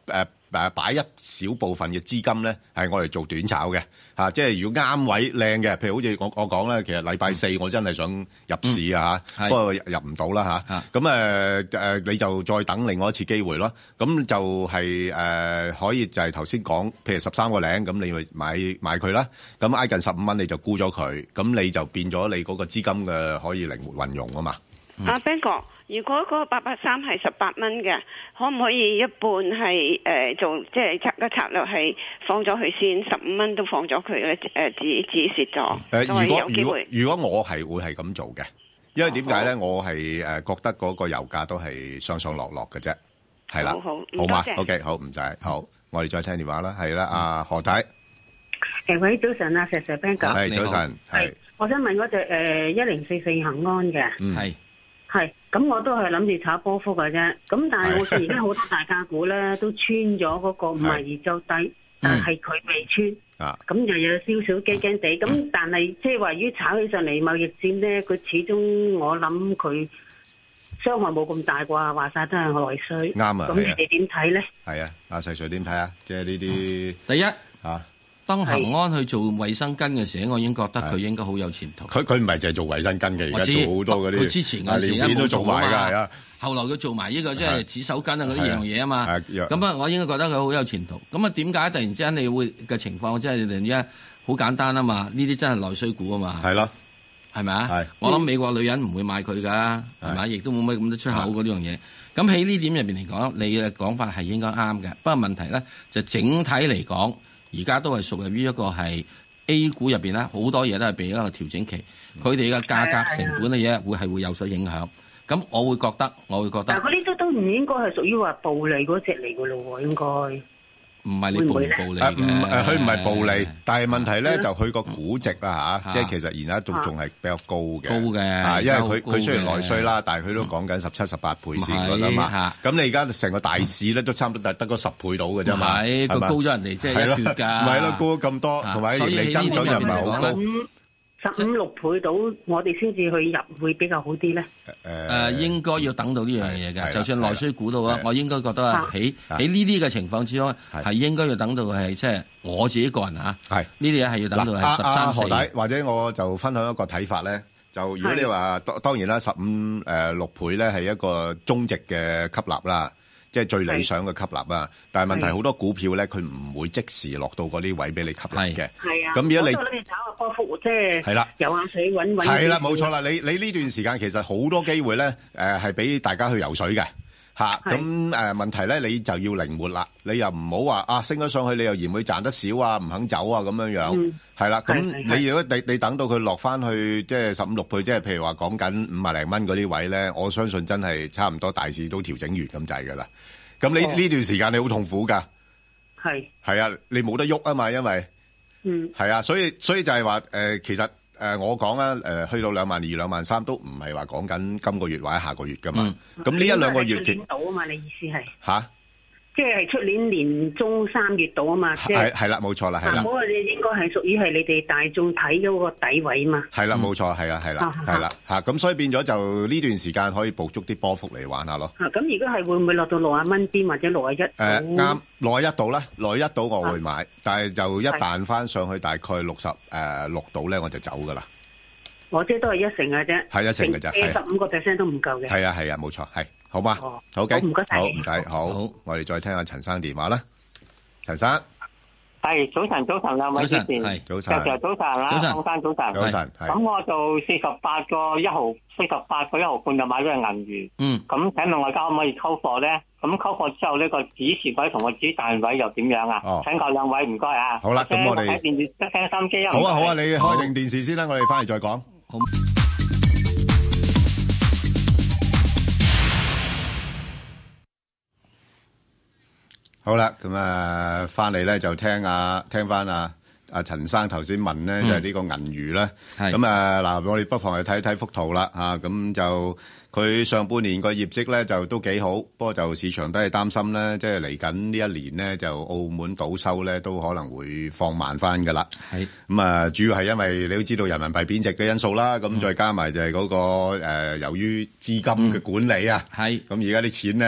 誒擺一小部分嘅資金咧，係我哋做短炒嘅嚇。即係如果啱位靚嘅，譬如好似我我講咧，其實禮拜四我真係想入市啊嚇，不過入唔到啦嚇。咁誒誒，你就再等另外一次機會咯。咁就係誒可以就係頭先講，譬如十三個零，咁你咪買買佢啦。咁挨近十五蚊你就沽咗佢，咁你就變咗你嗰個資金嘅可以靈活運用啊嘛。 阿 Ben 哥，如果嗰個八八三係十八蚊嘅，可唔可以一半係誒、呃、做即係策個策略係放咗佢先，十五蚊都放咗佢咧？誒止止蝕咗。誒， 如果如果如果我係會係咁做嘅，因為點解咧？我係誒覺得嗰個油價都係上上落落嘅啫，係啦， 好好， 好嘛 ？OK， 好唔使好，我哋再聽電話啦，係啦，阿何太。 誒，喂，早晨啊，石 Sir Ben 哥。 係早晨，係。我想問嗰隻誒一零四四恆安嘅。 嗯。係。 係，咁我都係諗住炒波幅嘅啫。咁但係我見而家好多大價股咧都穿咗嗰個五十二周低，但係佢未穿。啊。咁就有少少驚驚地。咁、嗯、但係即係話於炒起上嚟貿易戰咧，佢始終我諗佢傷害冇咁大啩，話晒都係內需。 啱啊。 咁你哋點睇咧？ 係啊，阿細 Sir 點睇啊？即係呢啲第一啊。 當恒安去做衛生巾嘅時候，我已經覺得佢應該好有前途。 佢佢唔係淨係做衛生巾嘅，而家做好多嗰啲。 佢之前嗰時連都做埋㗎，係啊。 後來佢做埋呢個即係紙手巾啊嗰啲樣嘢啊嘛。咁啊，我應該覺得佢好有前途。咁啊，點解突然之間你會嘅情況即係突然之間好簡單啊嘛？呢啲真係內需股啊嘛。係咯， 係咪啊？我諗美國女人唔會買佢㗎，係咪？亦都冇乜咁多出口嗰啲樣嘢。咁喺呢點入邊嚟講，你嘅講法係應該啱嘅。不過問題咧就整體嚟講。而家都係屬於一個係 A 股入邊咧，好多嘢都係俾一個調整期，佢哋嘅價格成本嘅嘢會係會有所影響。咁我會覺得，我會覺得。 但係嗰啲都都唔應該係屬於話暴利嗰隻嚟㗎咯喎，應該。 唔係你暴唔暴利嘅， 唔誒佢唔係暴利，但係問題咧就佢個估值啦嚇，即係其實而家仲仲係比較高嘅， 高嘅， 因為佢佢雖然內需啦，但係佢都講緊十七十八倍先㗎啦嘛。咁你而家成個大市咧都差唔多得得嗰十倍到嘅啫嘛， 係佢高咗人哋即係一橛㗎， 唔係咯，高咗咁多，同埋盈利增長又唔係好高。 十五六倍到，我哋先至去入會比較好啲咧。 誒誒，應該要等到呢樣嘢嘅，就算內需估到啊，我應該覺得啊，喺喺呢啲嘅情況之中，係應該要等到係即係我自己個人嚇。係呢啲嘢係要等到係十三四。 或者我就分享一個睇法咧，就如果你話當當然啦，十五誒六倍咧係一個中值嘅吸納啦。即係最理想嘅吸納啦，但係問題好多股票咧，佢唔會即時落到嗰啲位俾你吸納嘅。 係啊， 咁如果你我諗你炒個波幅，即係係啦， 游下水揾揾。 係啦，冇錯啦。你你呢段時間其實好多機會咧，誒係俾大家去游水嘅嚇。咁誒問題咧，你就要靈活啦。你又唔好話啊升咗上去，你又嫌佢賺得少啊，唔肯走啊咁樣樣。係啦，咁你如果你你等到佢落翻去即係十五六倍，即係譬如話講緊五萬零蚊嗰啲位咧，我相信真係差唔多大市都調整完咁滯㗎啦。咁你呢段時間你好痛苦㗎，係係啊，你冇得喐啊嘛，因為嗯係啊，所以所以就係話誒，其實誒、呃、我講啦，誒、呃、去到兩萬二、兩萬三都唔係話講緊今個月或者下個月㗎嘛。咁呢、嗯、一兩個月見到啊嘛，你意思係吓？ 即係出年年中三月度啊嘛， 係係啦，冇錯啦，係啦。 嗰個你應該係屬於係你哋大眾睇咗個底位嘛。 係啦，冇錯，係啦，係啦，係啦，嚇咁所以變咗就呢段時間可以捕捉啲波幅嚟玩下咯。 嚇咁如果係會唔會落到六十蚊邊或者六十一？誒啱，六十一度啦，六十一度我會買，但係就一彈翻上去大概六十誒六度咧，我就走噶啦。 我即係都係一成嘅啫， 係一成嘅啫， 十五個 percent 都唔夠嘅。 係啊係啊，冇錯，係好嘛？好嘅， 唔該晒， 好唔使好，我哋再聽下陳生電話啦。陳生， 係早晨，早晨兩位主持， 係早晨， 早晨早晨啦，早晨，早晨， 早晨。 咁我就四十八個一毫，四十八個一毫半就買咗隻銀魚。 嗯。 咁請問我而家可唔可以溝貨咧？咁溝貨之後呢個指示位同個指彈位又點樣啊？ 哦。 請教兩位唔該啊。 好啦，咁我哋睇電視聽心機啊。 好啊好啊，你開定電視先啦，我哋翻嚟再講。好。好啦，咁啊，翻嚟咧就聽啊，聽翻啊，阿陳生頭先問咧，就係呢個銀魚啦。咁啊，嗱，我哋不妨去睇睇幅圖啦，嚇，咁就佢上半年個業績咧就都幾好，不過就市場都係擔心咧，即係嚟緊呢一年咧，就澳門賭收咧都可能會放慢翻噶啦。係咁啊，主要係因為你都知道人民幣貶值嘅因素啦，咁再加埋就係嗰個誒，由於資金嘅管理啊，係咁而家啲錢咧。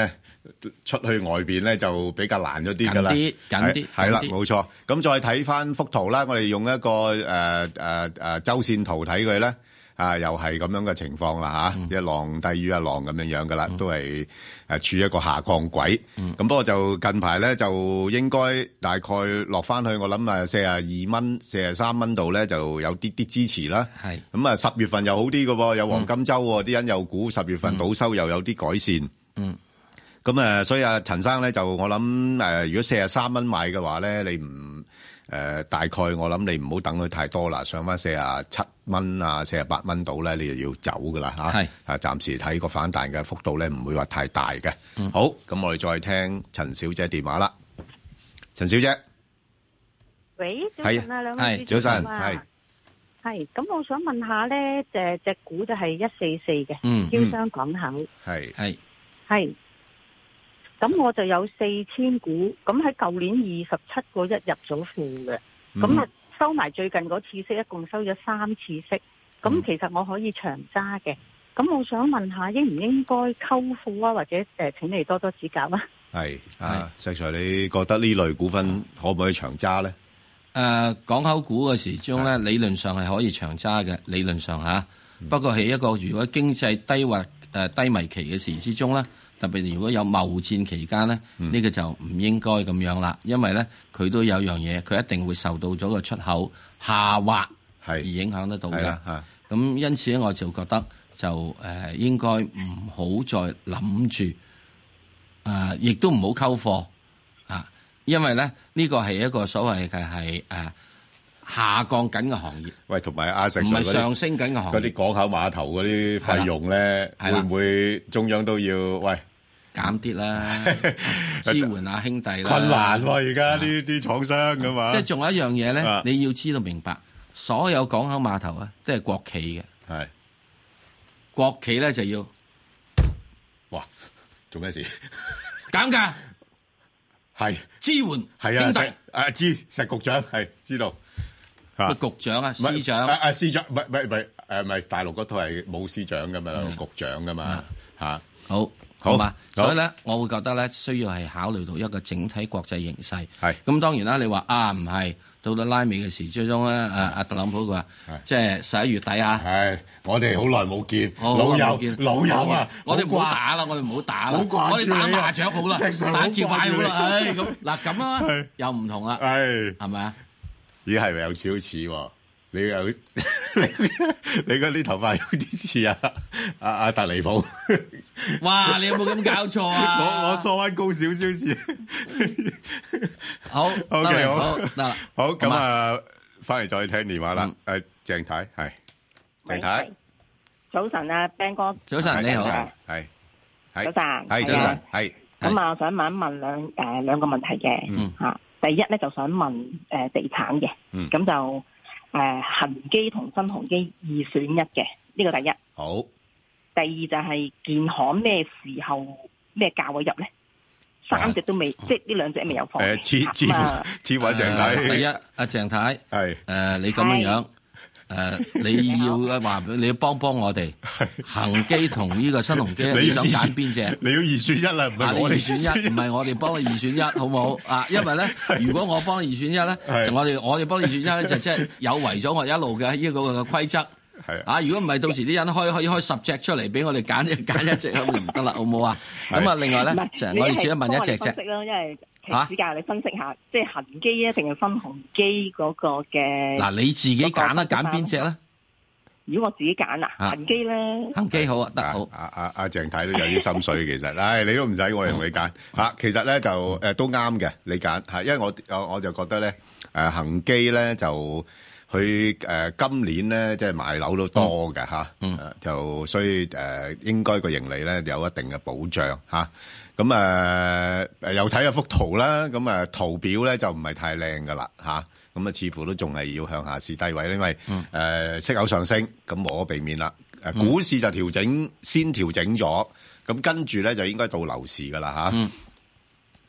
出去外邊咧就比較難咗啲㗎啦， 緊啲緊啲係啦，冇錯。咁再睇翻幅圖啦，我哋用一個誒誒誒周線圖睇佢咧，啊又係咁樣嘅情況啦嚇，一浪低於一浪咁樣樣㗎啦，都係誒處於一個下降軌。咁不過就近排咧就應該大概落翻去，我諗啊四十二蚊、四十三蚊度咧就有啲啲支持啦。 係咁啊，十月份又好啲嘅喎，有黃金週喎，啲人又估十月份賭收又有啲改善。 嗯。 咁誒，所以阿陳生咧就我諗誒，如果四十三蚊買嘅話咧，你唔誒大概我諗你唔好等佢太多啦，上翻四十七蚊啊、四十八蚊度咧，你就要走噶啦嚇。係啊，暫時睇個反彈嘅幅度咧，唔會話太大嘅。嗯。好，咁我哋再聽陳小姐電話啦。陳小姐， 喂，早晨啊，兩位早晨，係係。咁我想問下咧，隻隻股就係一四四嘅， 嗯， 招商港口， 係係係。咁我就有四千股，咁喺舊年二十七個一入咗庫嘅，咁啊、嗯、收埋最近嗰次息，一共收咗三次息，咁、嗯、其實我可以長揸嘅，咁我想問下應唔應該溝庫啊，或者誒、呃、請你多多指教啊。係啊，石 Sir， 你覺得呢類股份可唔可以長揸咧？誒、 呃，港口股嘅時鐘咧，理論上係可以長揸嘅，理論上吓，嗯、不過係一個如果經濟低或誒、呃、低迷期嘅時之中咧。特別如果有貿戰期間咧，呢、嗯、個就唔應該咁樣啦，因為咧佢都有樣嘢，佢一定會受到咗個出口下滑而影響得到嘅。咁因此咧，我就覺得就誒、呃、應該唔好再諗住誒，亦都唔好溝貨啊，因為咧呢、呢個係一個所謂嘅係誒下降緊嘅行業。喂， 同埋阿石唔係上升緊嘅行業。 嗰啲港口碼頭嗰啲費用咧，會唔會中央都要喂？ 減啲啦，支援下兄弟啦。 困難喎，而家呢啲廠商噶嘛。 即係仲有一樣嘢咧，你要知道明白，所有港口碼頭啊，即係國企嘅。係國企咧就要，哇，做咩事？減價係支援係啊， 兄弟啊知石局長係知道。 個局長啊，司長啊啊司長，唔係唔係唔係誒，唔係大陸嗰套係冇司長噶嘛，局長噶嘛嚇。好。好嘛，所以咧，我會覺得咧，需要係考慮到一個整體國際形勢。係咁，當然啦，你話啊，唔係到到拉尾嘅時最終咧，阿阿特朗普佢話，即係十一月底啊。係，我哋好耐冇見，老友老友啊，我哋唔好打啦，我哋唔好打啦，我哋打麻雀好啦，打橋牌好啦。唉，咁嗱咁啊，又唔同啦，係係咪啊？ 咦，係咪有少少似喎？你又你你嗰啲頭髮有啲似啊阿阿達利普， 哇！你有冇咁搞錯啊？ 我我梳翻高少少先。 好 ，OK， 好， 嗱， 好咁啊，翻嚟再聽電話啦。誒，鄭太係鄭太， 早晨啊 ，Ben 哥， 早晨你好， 係早晨， 係早晨，係咁啊，我想問一問兩誒兩個問題嘅嚇。第一咧就想問誒地產嘅，咁就。誒恒基同新鴻基二選一嘅，呢個第一。好。第二就係建行咩時候咩價位入咧？三隻都未，即係呢兩隻未有放。 誒，似似乎似位鄭太。 第一，阿鄭太係誒，你咁樣樣誒，你要話你要幫幫我哋恒基同呢個新鴻基，你想揀邊隻？ 你要二選一啦，唔係我哋二選一，唔係我哋幫你二選一，好唔好啊？因為咧，如果我幫你二選一咧，就我哋我哋幫你二選一咧，就即係有違咗我一路嘅呢個嘅規則。係啊，如果唔係，到時啲人開可以開十隻出嚟俾我哋揀，揀一隻咁就唔得啦，好唔好啊？咁啊，另外咧，成我哋只係問一隻啫。 因為期指教你分析下，即係恒基啊，定係新鴻基嗰個嘅。 嗱，你自己揀啦，揀邊隻咧？ 如果我自己揀啊，恒基咧， 恒基好啊，得好。 阿阿阿鄭太都有啲心水，其實，唉，你都唔使我哋同你揀嚇。其實咧就誒都啱嘅，你揀嚇，因為我我我就覺得咧誒恒基咧就。佢誒今年咧，即係賣樓都多嘅嚇，就所以誒應該個盈利咧有一定嘅保障嚇。咁誒誒又睇下幅圖啦，咁誒圖表咧就唔係太靚噶啦嚇。咁啊似乎都仲係要向下試低位，因為誒息口上升，咁無可避免啦。誒股市就調整，先調整咗，咁跟住咧就應該到樓市噶啦嚇。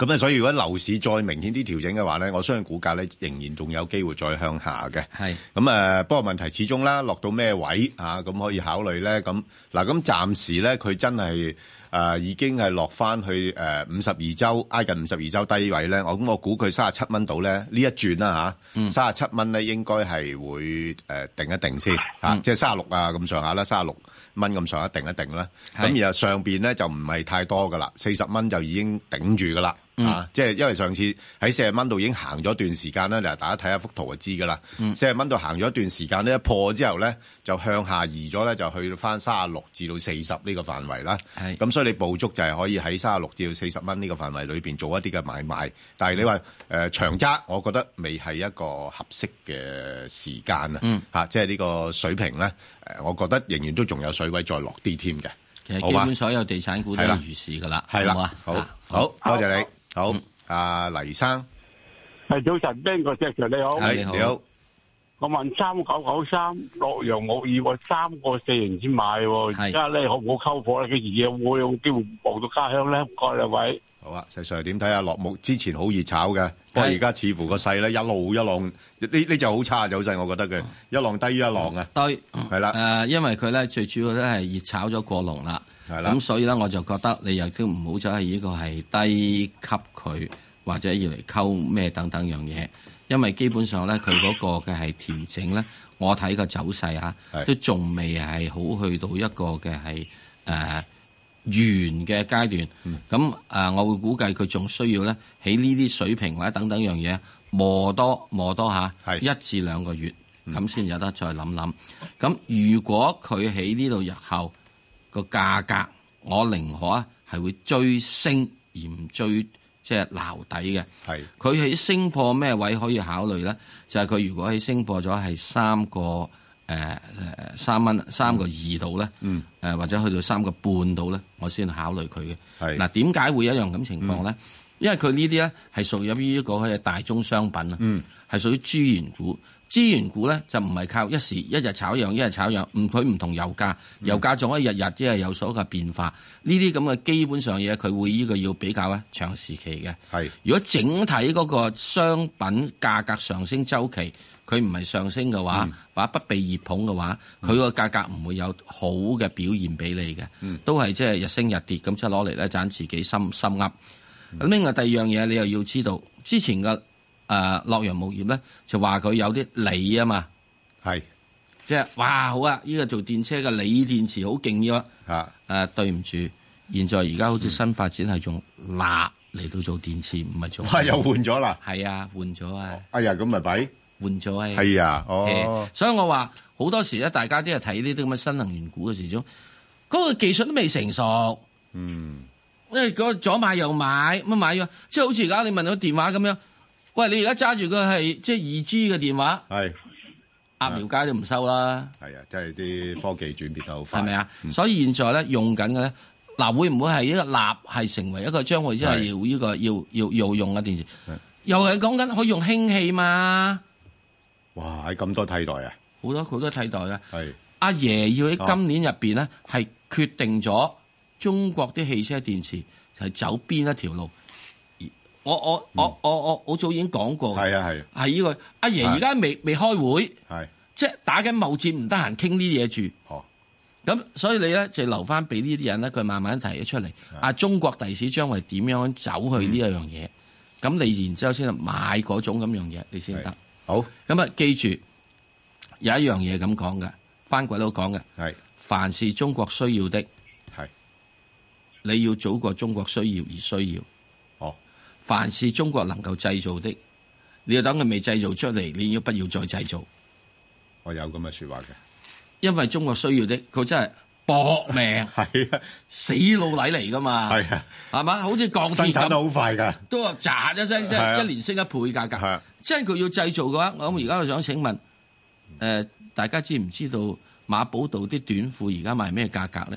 咁咧，所以如果樓市再明顯啲調整嘅話咧，我相信股價咧仍然仲有機會再向下嘅。 係咁誒，不過問題始終啦，落到咩位啊？咁可以考慮咧。咁嗱，咁暫時咧，佢真係誒、呃、已經係落翻去誒五十二週挨近五十二週低位咧。我咁我估佢三十七蚊度咧，呢一轉啦嚇，三十七蚊咧應該係會誒、呃、定一定先嚇、嗯啊，即係三十六啊咁上下啦，三十六蚊咁上下定一定啦。咁然後上邊咧就唔係太多噶啦，四十蚊就已經頂住噶啦。嗯、啊！即係因為上次喺四十蚊度已經行咗一段時間啦，嗱，大家睇下幅圖就知噶啦。四十蚊度行咗一段時間咧，一破之後咧就向下移咗咧，就去翻三十六至到四十呢個範圍啦。係咁，所以你捕捉就係可以喺三十六至到四十蚊呢個範圍裏邊做一啲嘅買賣。但係你話誒、呃、長揸，我覺得未係一個合適嘅時間啊。嗯，嚇，即係呢個水平咧，誒，我覺得仍然都仲有水位再落啲添嘅。 其實基本所有地產股都係如是噶啦， 係啦， 好好好，多謝你。好，阿黎生， 係早晨，邊個隻場你好？ 係你好。 我問三九九三洛陽鉬業，我三個四年先買，而家咧好唔好溝貨咧？幾時會會有機會望到家鄉咧？唔該兩位。 好啊，石 Sir 點睇啊？落木之前好熱炒嘅，不過而家似乎個勢咧一路一浪，呢呢就好差走勢，我覺得嘅一浪低於一浪啊。 對， 係啦。 誒，因為佢咧最主要咧係熱炒咗過龍啦。係啦，咁所以咧，我就覺得你又都唔好走係呢個係低級佢，或者要嚟溝咩等等樣嘢，因為基本上咧，佢嗰個嘅係調整咧，我睇個走勢啊，都仲未係好去到一個嘅係誒完嘅階段。咁、嗯、誒、呃，我會估計佢仲需要咧喺呢啲水平或者等等樣嘢磨多磨多下一至兩個月，咁先有得再諗諗。咁如果佢喺呢度日後，個價格我寧可啊係會追升而唔追即係撈底嘅。係佢喺升破咩位可以考慮咧？就係、是、佢如果喺升破咗係三個誒誒三蚊三個二度咧，嗯誒、呃、或者去到三個半度咧，我先考慮佢嘅。係嗱，點解會有一樣咁情況咧、嗯？因為佢呢啲咧係屬於呢個嘅大宗商品啊，嗯係屬於資源股。資源股咧就唔係靠一時一日炒一樣，一日炒一樣，唔佢唔同油價，油價仲可以日日即係有所嘅變化。呢啲咁嘅基本上嘢，佢會呢個要比較咧長時期嘅。係如果整體嗰個商品價格上升周期，佢唔係上升嘅話，嗯、或者不被熱捧嘅話，佢個價格唔會有好嘅表現俾你嘅、嗯，都係即係日升日跌咁，即係攞嚟咧賺自己心心噏。咁另外第二樣嘢，你又要知道之前嘅。誒洛陽鉬業咧就話佢有啲鋰啊嘛，係即係哇好啊！呢、這個做電車嘅鋰電池好勁嘅，啊誒、呃、對唔住，現在而家好似新發展係用鈉嚟到做電池，唔係做係又換咗啦， 係啊換咗啊！ 哎呀咁咪弊換咗啊！ 係啊哦、呃， 所以我話好多時咧，大家即係睇呢啲咁嘅新能源股嘅時鐘，嗰、那個技術都未成熟，嗯，因為嗰左買右買乜買咗，即係好似而家你問到電話咁樣。喂，你而家揸住個係即係二 G 嘅電話，係鴨寮街都唔收啦。係啊，即係啲科技轉變得好快，係咪啊？所以現在咧用緊嘅咧，嗱會唔會係一個鈉係成為一個將會即係要呢、這個要要要用嘅電池？又係講緊可以用氫氣嘛？ 哇！喺咁多替代啊， 好多好多替代啊。係阿爺要喺今年入邊咧係決定咗中國啲汽車電池係走邊一條路。我我我我我好早已經講過嘅，係啊係，係呢個阿爺而家未未開會，係即係打緊貿戰，唔得閒傾呢啲嘢住。哦，咁所以你咧就留翻俾呢啲人咧，佢慢慢提咗出嚟。啊，中國第時將會點樣走去呢一樣嘢？咁、嗯、你然之後先買嗰種咁樣嘢，你先得。好，咁啊，記住有一樣嘢咁講嘅，番鬼佬講嘅，係凡是中國需要的，係你要早過中國需要而需要。凡是中國能夠製造的，你要等佢未製造出嚟，你要不要再製造？ 我有咁嘅說話嘅， 因為中國需要的，佢真係搏命，係啊，死老禮嚟噶嘛，係啊，係嘛，好似鋼鐵咁，生產得好快噶，都話喳一聲聲，一年升一倍價格，係，即係佢要製造嘅話，我而家我想請問，誒、呃，大家知唔知道馬寶道啲短褲而家賣咩價格咧？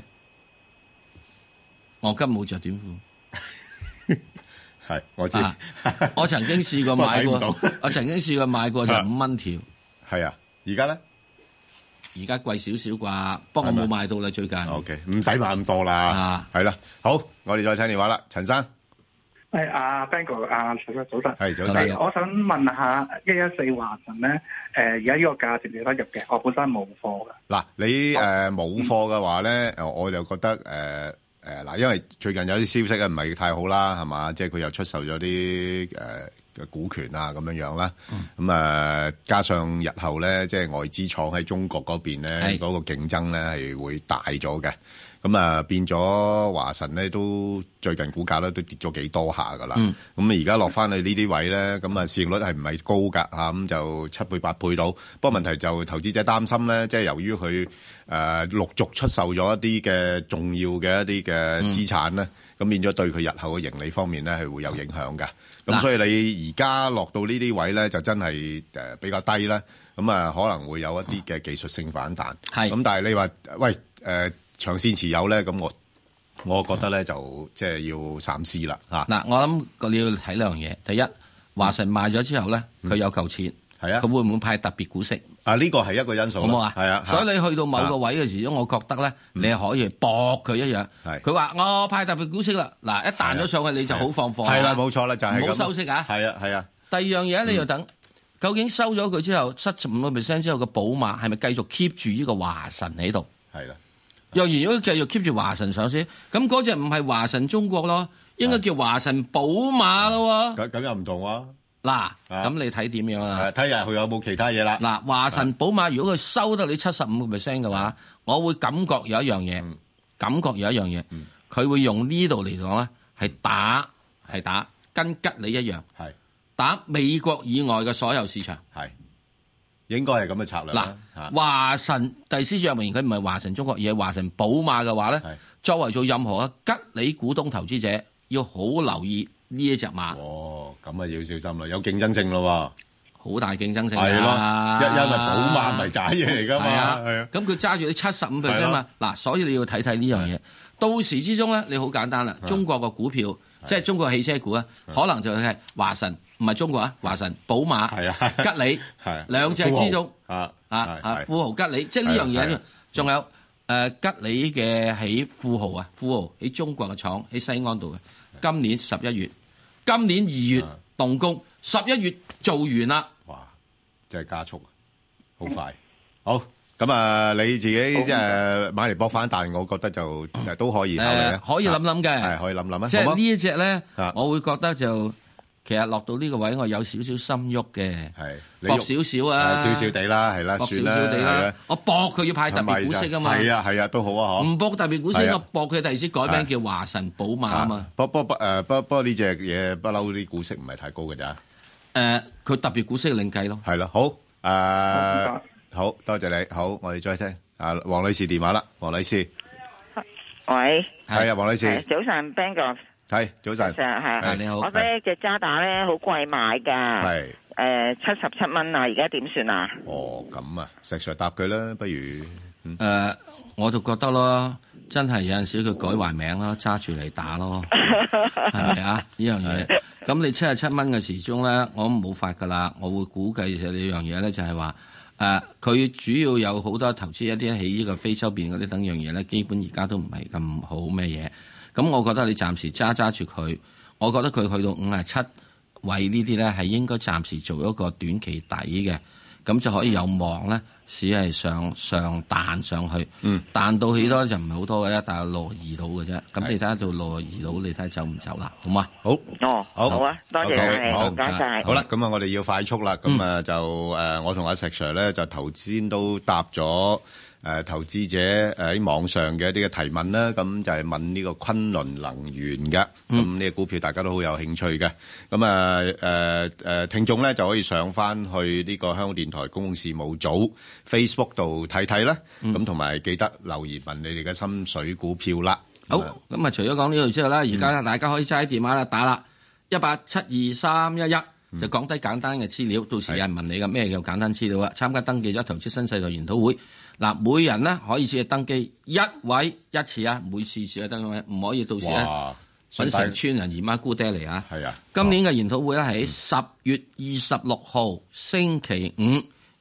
我今冇着短褲。 係，我知、啊。 我曾經試過買過，我，我曾經試過買過就五蚊條。 係啊，而家咧？ 而家貴少少啩，不過我冇買到啦，最近。 O K，唔使買咁多啦。啊，係啦，好，我哋再聽電話啦，陳生。 係阿 Bang 哥，阿早晨，早晨， 係早晨。 我想問下一一四華晨咧，誒而家呢個價值值得入嘅，我本身冇貨嘅。 嗱，你誒冇貨嘅話咧，我就覺得誒誒嗱，因為最近有啲消息咧唔係太好啦，係嘛？即係佢又出售咗啲誒嘅股權啊，咁樣樣啦。咁誒、嗯、加上日後咧，即係外資廠喺中國嗰邊咧，嗰、嗰個競爭咧係會大咗嘅。咁啊，變咗華晨咧，都最近股價咧都跌咗幾多下噶啦。咁而家落翻去呢啲位咧，咁啊市盈率係唔係高㗎？嚇咁就七倍八倍到。不過問題就投資者擔心咧，即係由於佢誒陸續出售咗一啲嘅重要嘅一啲嘅資產咧，咁、嗯、變咗對佢日後嘅盈利方面咧係會有影響嘅。咁所以你而家落到呢啲位咧，就真係誒比較低啦。咁啊可能會有一啲嘅技術性反彈。係咁，但係你話喂誒？呃長線持有咧，咁我我覺得咧就即係要三思啦嚇。嗱， 我諗你要睇兩樣嘢。第一，華晨賣咗之後咧，佢有嚿錢，係啊，佢會唔會派特別股息？ 啊，呢個係一個因素，好唔好啊？係啊， 所以你去到某個位嘅時候，我覺得咧，你係可以搏佢一樣。係，佢話我派特別股息啦，嗱一彈咗上去你就好放貨。 係啦，冇錯啦，就係咁。 唔好收息啊！ 係啊，係啊。 第二樣嘢你要等，究竟收咗佢之後七十五個 percent 之後嘅寶馬係咪繼續 keep 住呢個華晨喺度？係啦。若然如果繼續 keep 住華晨上市，咁嗰隻唔係華晨中國咯，應該叫華晨寶馬咯。 咁咁又唔同喎。 嗱，咁你睇點樣啊？ 睇下佢有冇其他嘢啦。 嗱，華晨寶馬如果佢收得你七十五個 percent 嘅話，我會感覺有一樣嘢、嗯，感覺有一樣嘢，佢、嗯、會用呢度嚟講咧，係打係打跟吉利一樣，係打美國以外嘅所有市場，係。 應該係咁嘅策略啦。 嗱，華晨第四隻名，佢唔係華晨中國，而係華晨寶馬嘅話咧，作為做任何嘅吉利股東投資者，要好留意呢一隻馬。 哦，咁啊要小心啦，有競爭性咯， 好大競爭性係咯，因因為寶馬唔係渣嘢嚟噶嘛，係啊。 咁佢揸住你七十五 percent 嘛，嗱，所以你要睇睇呢樣嘢。到時之中咧，你好簡單啦，中國嘅股票，即係中國汽車股啊，可能就係華晨。唔係中國啊，華晨、寶馬、吉利，兩隻之中啊啊啊，富豪、吉利，即係呢樣嘢。仲有誒吉利嘅喺富豪啊，富豪喺中國嘅廠喺西安度嘅，今年十一月，今年二月動工，十一月做完啦。 哇！真係加速，好快。好咁啊，你自己即係買嚟搏反彈，我覺得就都可以考慮嘅， 可以諗諗嘅， 係可以諗諗啊。 即係呢一隻咧，我會覺得就。其實落到呢個位，我有少少心喐嘅，搏少少啊， 少少地啦，係啦， 搏少少地啦。我搏佢要派特別股息啊嘛， 係啊係啊，都好啊嗬。 唔搏特別股息，我搏佢第時改名叫華晨寶馬啊嘛。 不不不誒，不不過呢隻嘢不嬲啲股息唔係太高嘅咋。 誒，佢特別股息另計咯。 係啦，好誒，好多謝你，好，我哋再聽啊，黃女士電話啦，黃女士。 喂。 係啊，黃女士。 早晨 ，Bang 哥。 係早晨， 係你好。 我咧隻渣打咧好貴買噶，係誒七十七蚊啊，而家點算啊？ 哦，咁啊，石 Sir 答佢啦，不如誒、 嗯呃，我就覺得咯，真係有陣時佢改壞名咯，揸住嚟打咯，係咪啊？呢樣嘢，咁你七十七蚊嘅時鐘咧，我冇法噶啦，我會估計就呢樣嘢咧，就係話誒，佢主要有好多投資一啲喺呢個非洲邊嗰啲等樣嘢咧，基本而家都唔係咁好咩嘢。咁我覺得你暫時揸揸住佢，我覺得佢去到五十七位呢啲咧係應該暫時做一個短期底嘅，咁就可以有望咧，市係上上彈上去，嗯、彈到起多就唔係好多嘅啫，但係六二到嘅啫。咁你睇下做六二到，你睇下走唔走啦，好嘛？ 好， 哦，好，好啊，多謝，好，唔該晒。 好啦，咁啊，我哋要快速啦，咁啊就誒、嗯，我同阿石 Sir 咧就頭先都答咗。誒投資者誒喺網上嘅一啲嘅提問啦，咁就係問呢個昆侖能源嘅，咁呢個股票大家都好有興趣嘅，咁啊誒誒聽眾咧就可以上翻去呢個香港電台公共事務組 Facebook 度睇睇啦，咁同埋記得留言問你哋嘅心水股票啦。 好，咁啊除咗講呢度之後咧，而家大家可以齋電話啦打啦一八七二三一一，就講低簡單嘅資料，到時有人問你嘅咩叫簡單資料啊？參加登記咗投資新世代研討會。嗱，每人咧可以只係登記一位一次啊，每次只係登記，唔可以到時咧揾成村人姨媽姑爹嚟啊！係啊，今年嘅研討會咧喺十月二十六號星期五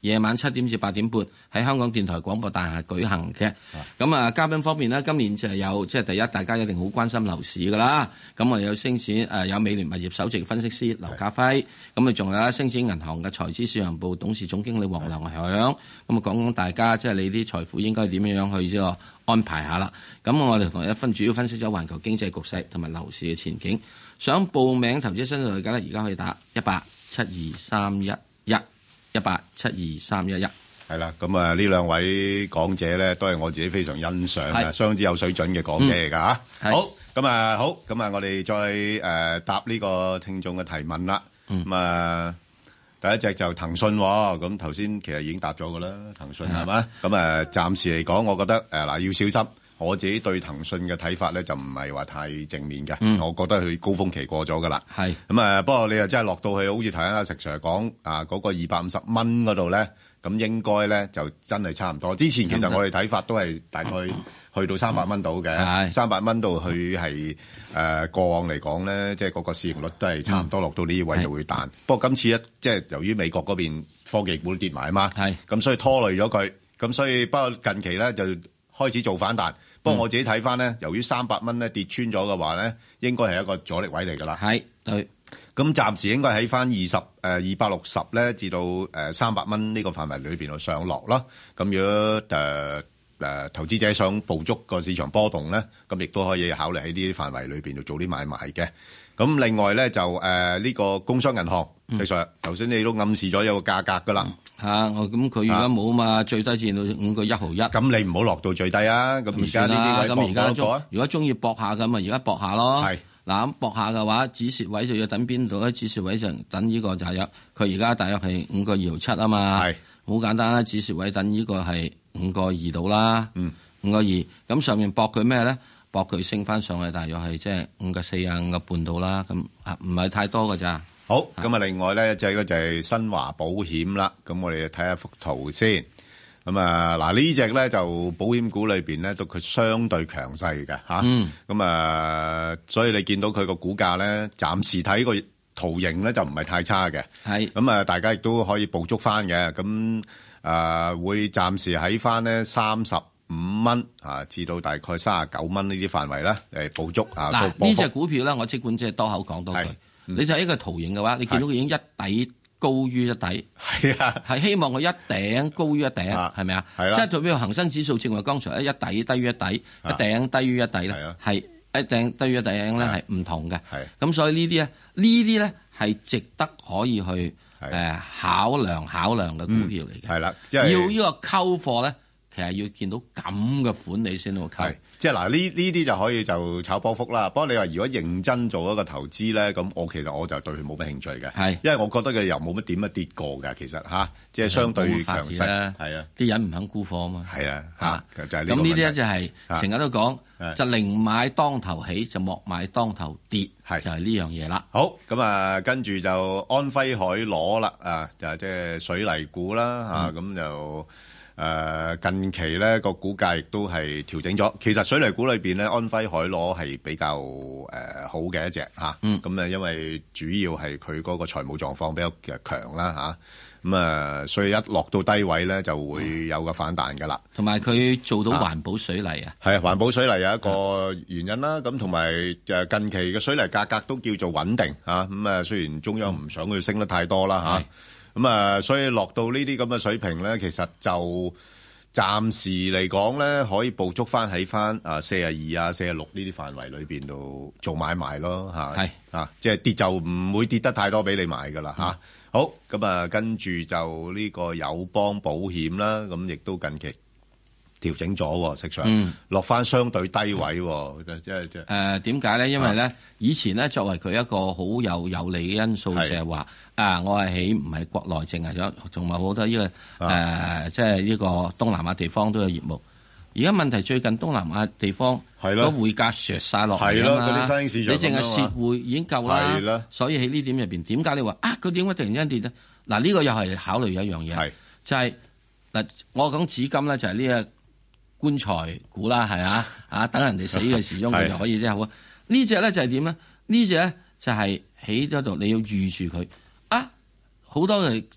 夜晚七點至八點半喺香港電台廣播大廈舉行嘅。咁啊，嘉賓方面呢，今年就係有即係第一，大家一定好關心樓市噶啦。咁我有星展誒有美聯物業首席分析師劉家輝，咁啊仲有星展銀行嘅財資市場部董事總經理黃良響。咁啊講講大家即係你啲財富應該點樣樣去即係安排下啦。咁我哋同一分主要分析咗環球經濟局勢同埋樓市嘅前景。想報名投資新勢力嘅咧，而家可以打一八七二三一一一八七二三一一。 係啦，咁啊呢兩位講者咧，都係我自己非常欣賞嘅，相當之有水準嘅講者嚟㗎嚇。好，咁啊好，咁啊我哋再誒、呃、答呢個聽眾嘅提問啦。咁、嗯、啊第一隻就騰訊喎，咁頭先其實已經答咗㗎啦，騰訊係嘛？咁啊暫時嚟講，我覺得誒嗱、呃、要小心。我自己對騰訊嘅睇法咧，就唔係話太正面嘅、嗯。我覺得佢高峰期過咗㗎啦。係咁啊，不過你又真係落到去，好似頭先阿石 Sir 講啊，嗰、嗰個二百五十蚊嗰度咧，咁應該咧就真係差唔多。之前其實我哋睇法都係大概去到三百蚊度嘅，三百蚊度佢係誒過往嚟講咧，即係嗰個市盈率都係差唔多，落到呢位就會彈。不過今次一即係由於美國嗰邊科技股都跌埋啊嘛，係咁所以拖累咗佢。咁所以不過近期咧就開始做反彈。不過我自己睇翻咧，由於三百蚊咧跌穿咗嘅話咧，應該係一個阻力位嚟㗎啦。係對。咁暫時應該喺翻二十誒二百六十咧，至到誒三百蚊呢個範圍裏邊度上落咯。咁如果誒誒、呃呃、投資者想捕捉個市場波動咧，咁亦都可以考慮喺呢啲範圍裏邊度做啲買賣嘅。咁另外咧就誒呢、呃這個工商銀行，其實頭先你都暗示咗有個價格㗎啦。嚇！我咁佢而家冇啊嘛，最低至到五個一毫一。咁你唔好落到最低啊！咁而家呢啲位搏一搏啊！如果中意搏下咁啊，而家搏下咯。係嗱咁搏下嘅話，止蝕位就要等邊度咧？止蝕位就等呢個就係有佢而家大約係五個二毫七啊嘛。係好簡單啦，止蝕位等呢個係五個二度啦。嗯，五個二咁上面搏佢咩咧？搏佢升翻上去，大約係即係五個四啊五個半度啦。咁啊唔係太多㗎咋。好，咁啊，另外咧，就係個就係新華保險啦。咁我哋睇下幅圖先。咁啊，嗱呢隻咧就保險股裏邊咧，都佢相對強勢嘅嚇。嗯。咁啊，所以你見到佢個股價咧，暫時睇個圖形咧就唔係太差嘅。係。咁啊，大家亦都可以捕捉翻嘅。咁啊，會暫時喺翻咧三十五蚊啊，至到大概三十九蚊呢啲範圍啦，誒捕捉啊。嗱，呢隻股票咧，我即管即係多口講多句。你就係一個圖形嘅話，你見到佢已經一底高於一底，係啊，係希望佢一頂高於一頂，係咪啊？係啦，即係做咩恒生指數正話剛才一底低於一底，一頂低於一底咧，係一頂低於一頂咧係唔同嘅。係咁，所以呢啲咧，呢啲咧係值得可以去誒考量考量嘅股票嚟嘅。係啦，即係要呢個溝貨咧，其實要見到咁嘅款你先好溝。即係嗱，呢呢啲就可以就炒波幅啦。不過你話如果認真做一個投資咧，咁我其實我就對佢冇乜興趣嘅。係，因為我覺得佢又冇乜點樣跌過嘅。其實吓，即係相對強勢。係啊，啲人唔肯沽貨啊嘛。係啊，吓就係呢個問題。咁呢啲咧就係成日都講，就寧買當頭起，就莫買當頭跌。係就係呢樣嘢啦。好，咁啊，跟住就安徽海螺啦，啊，就係即係水泥股啦，吓咁就。誒、呃、近期咧個股價亦都係調整咗。其實水泥股裏邊咧，安徽海螺係比較誒、呃、好嘅一隻嚇。嗯。咁啊，因為主要係佢嗰個財務狀況比較強啦嚇。咁啊，所以一落到低位咧，就會有個反彈㗎啦。同埋佢做到環保水泥啊。係啊，環保水泥有一個原因啦。咁同埋誒近期嘅水泥價格都叫做穩定嚇。咁啊，雖然中央唔想佢升得太多啦嚇。咁啊，所以落到呢啲咁嘅水平咧，其實就暫時嚟講咧，可以捕捉翻喺翻啊四十二啊、四十六呢啲範圍裏邊度做買賣咯嚇。係啊，即係跌就唔會跌得太多俾你買噶啦嚇。好，咁啊，跟住就呢個友邦保險啦，咁亦都近期調整咗，實際上落翻相對低位，即係即係誒點解咧？因為咧、啊、以前咧作為佢一個好有有利嘅因素，就係話啊，我係起唔係國內淨係咗，仲有好多呢、這個誒，即係呢個東南亞地方都有業務。而家問題最近東南亞地方個匯價削晒落嚟啊嘛，啲新興市場你淨係蝕匯已經夠啦。所以喺呢點入邊，點解你話啊？佢點解突然間跌咧？嗱，呢個又係考慮一樣嘢，就係、是、嗱，我講紙金咧就係呢個棺材股啦，係啊，啊等人哋死嘅時鐘佢就可以即係好。呢隻咧就係點咧？呢隻咧就係喺咗度，你要預住佢啊！好多嘅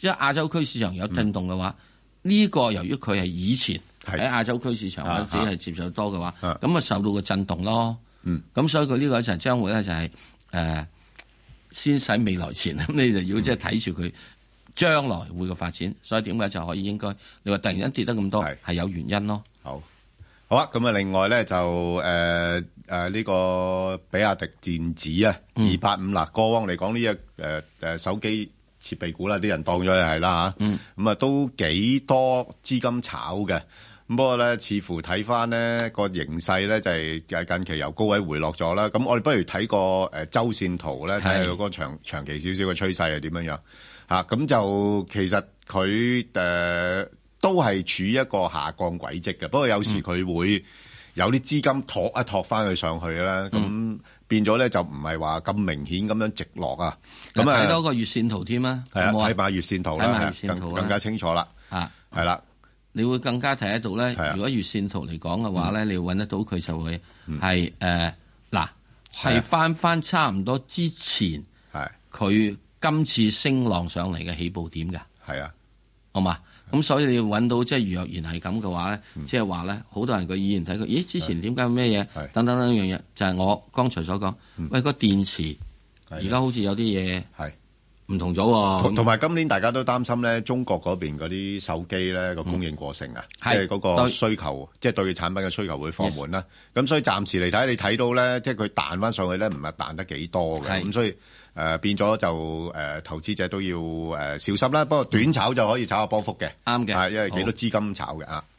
即係亞洲區市場有震動嘅話，呢、嗯、個由於佢係以前喺亞洲區市場或者係接受多嘅話，咁啊受到個震動咯。咁、嗯、所以佢呢個就將會咧就係、是、誒、呃、先使未來錢，咁你就要即係睇住佢將來會嘅發展。所以點解就可以應該你話突然間跌得咁多係有原因咯。 好。好啊，咁啊，另外咧就誒誒呢個比亞迪電子啊，二八五啦，過往嚟講呢隻誒誒手機設備股啦，啲人當咗係啦嚇，咁、嗯、啊都幾多資金炒嘅，咁不過咧似乎睇翻咧個形勢咧就係、是、近期由高位回落咗啦，咁我哋不如睇個誒周線圖咧，睇下佢個長長期少少嘅趨勢係點樣樣嚇，咁、啊、就其實佢誒。呃都係處於一個下降軌跡嘅，不過有時佢會有啲資金托一托翻佢上去啦，咁、嗯、變咗咧就唔係話咁明顯咁樣直落啊。咁啊睇多個月線圖添啊， 係啊，睇埋月線圖啦，更更加清楚啦。啊，係啦， 你會更加睇得到咧。如果月線圖嚟講嘅話咧、嗯，你會揾得到佢就會係誒嗱，係翻翻差唔多之前係佢今次升浪上嚟嘅起步點嘅。係啊，好嘛？咁所以你要揾到即係若然係咁嘅話咧，即係話咧，好、就是、多人個意見睇佢，咦？之前點解咩嘢？等等等樣嘢，就係、是、我剛才所講、嗯。喂，個電池而家好似有啲嘢係唔同咗喎。 同埋今年大家都擔心咧，中國嗰邊嗰啲手機咧個供應過剩啊，即係嗰個需求，即係、就是、對產品嘅需求會放緩啦。咁所以暫時嚟睇，你睇到咧，即係佢彈翻上去咧，唔係彈得幾多嘅。咁所以。誒、呃、變咗就誒、呃、投資者都要誒、呃、小心啦，不過短炒就可以炒下波幅嘅，啱嘅，因為幾多資金炒嘅啊。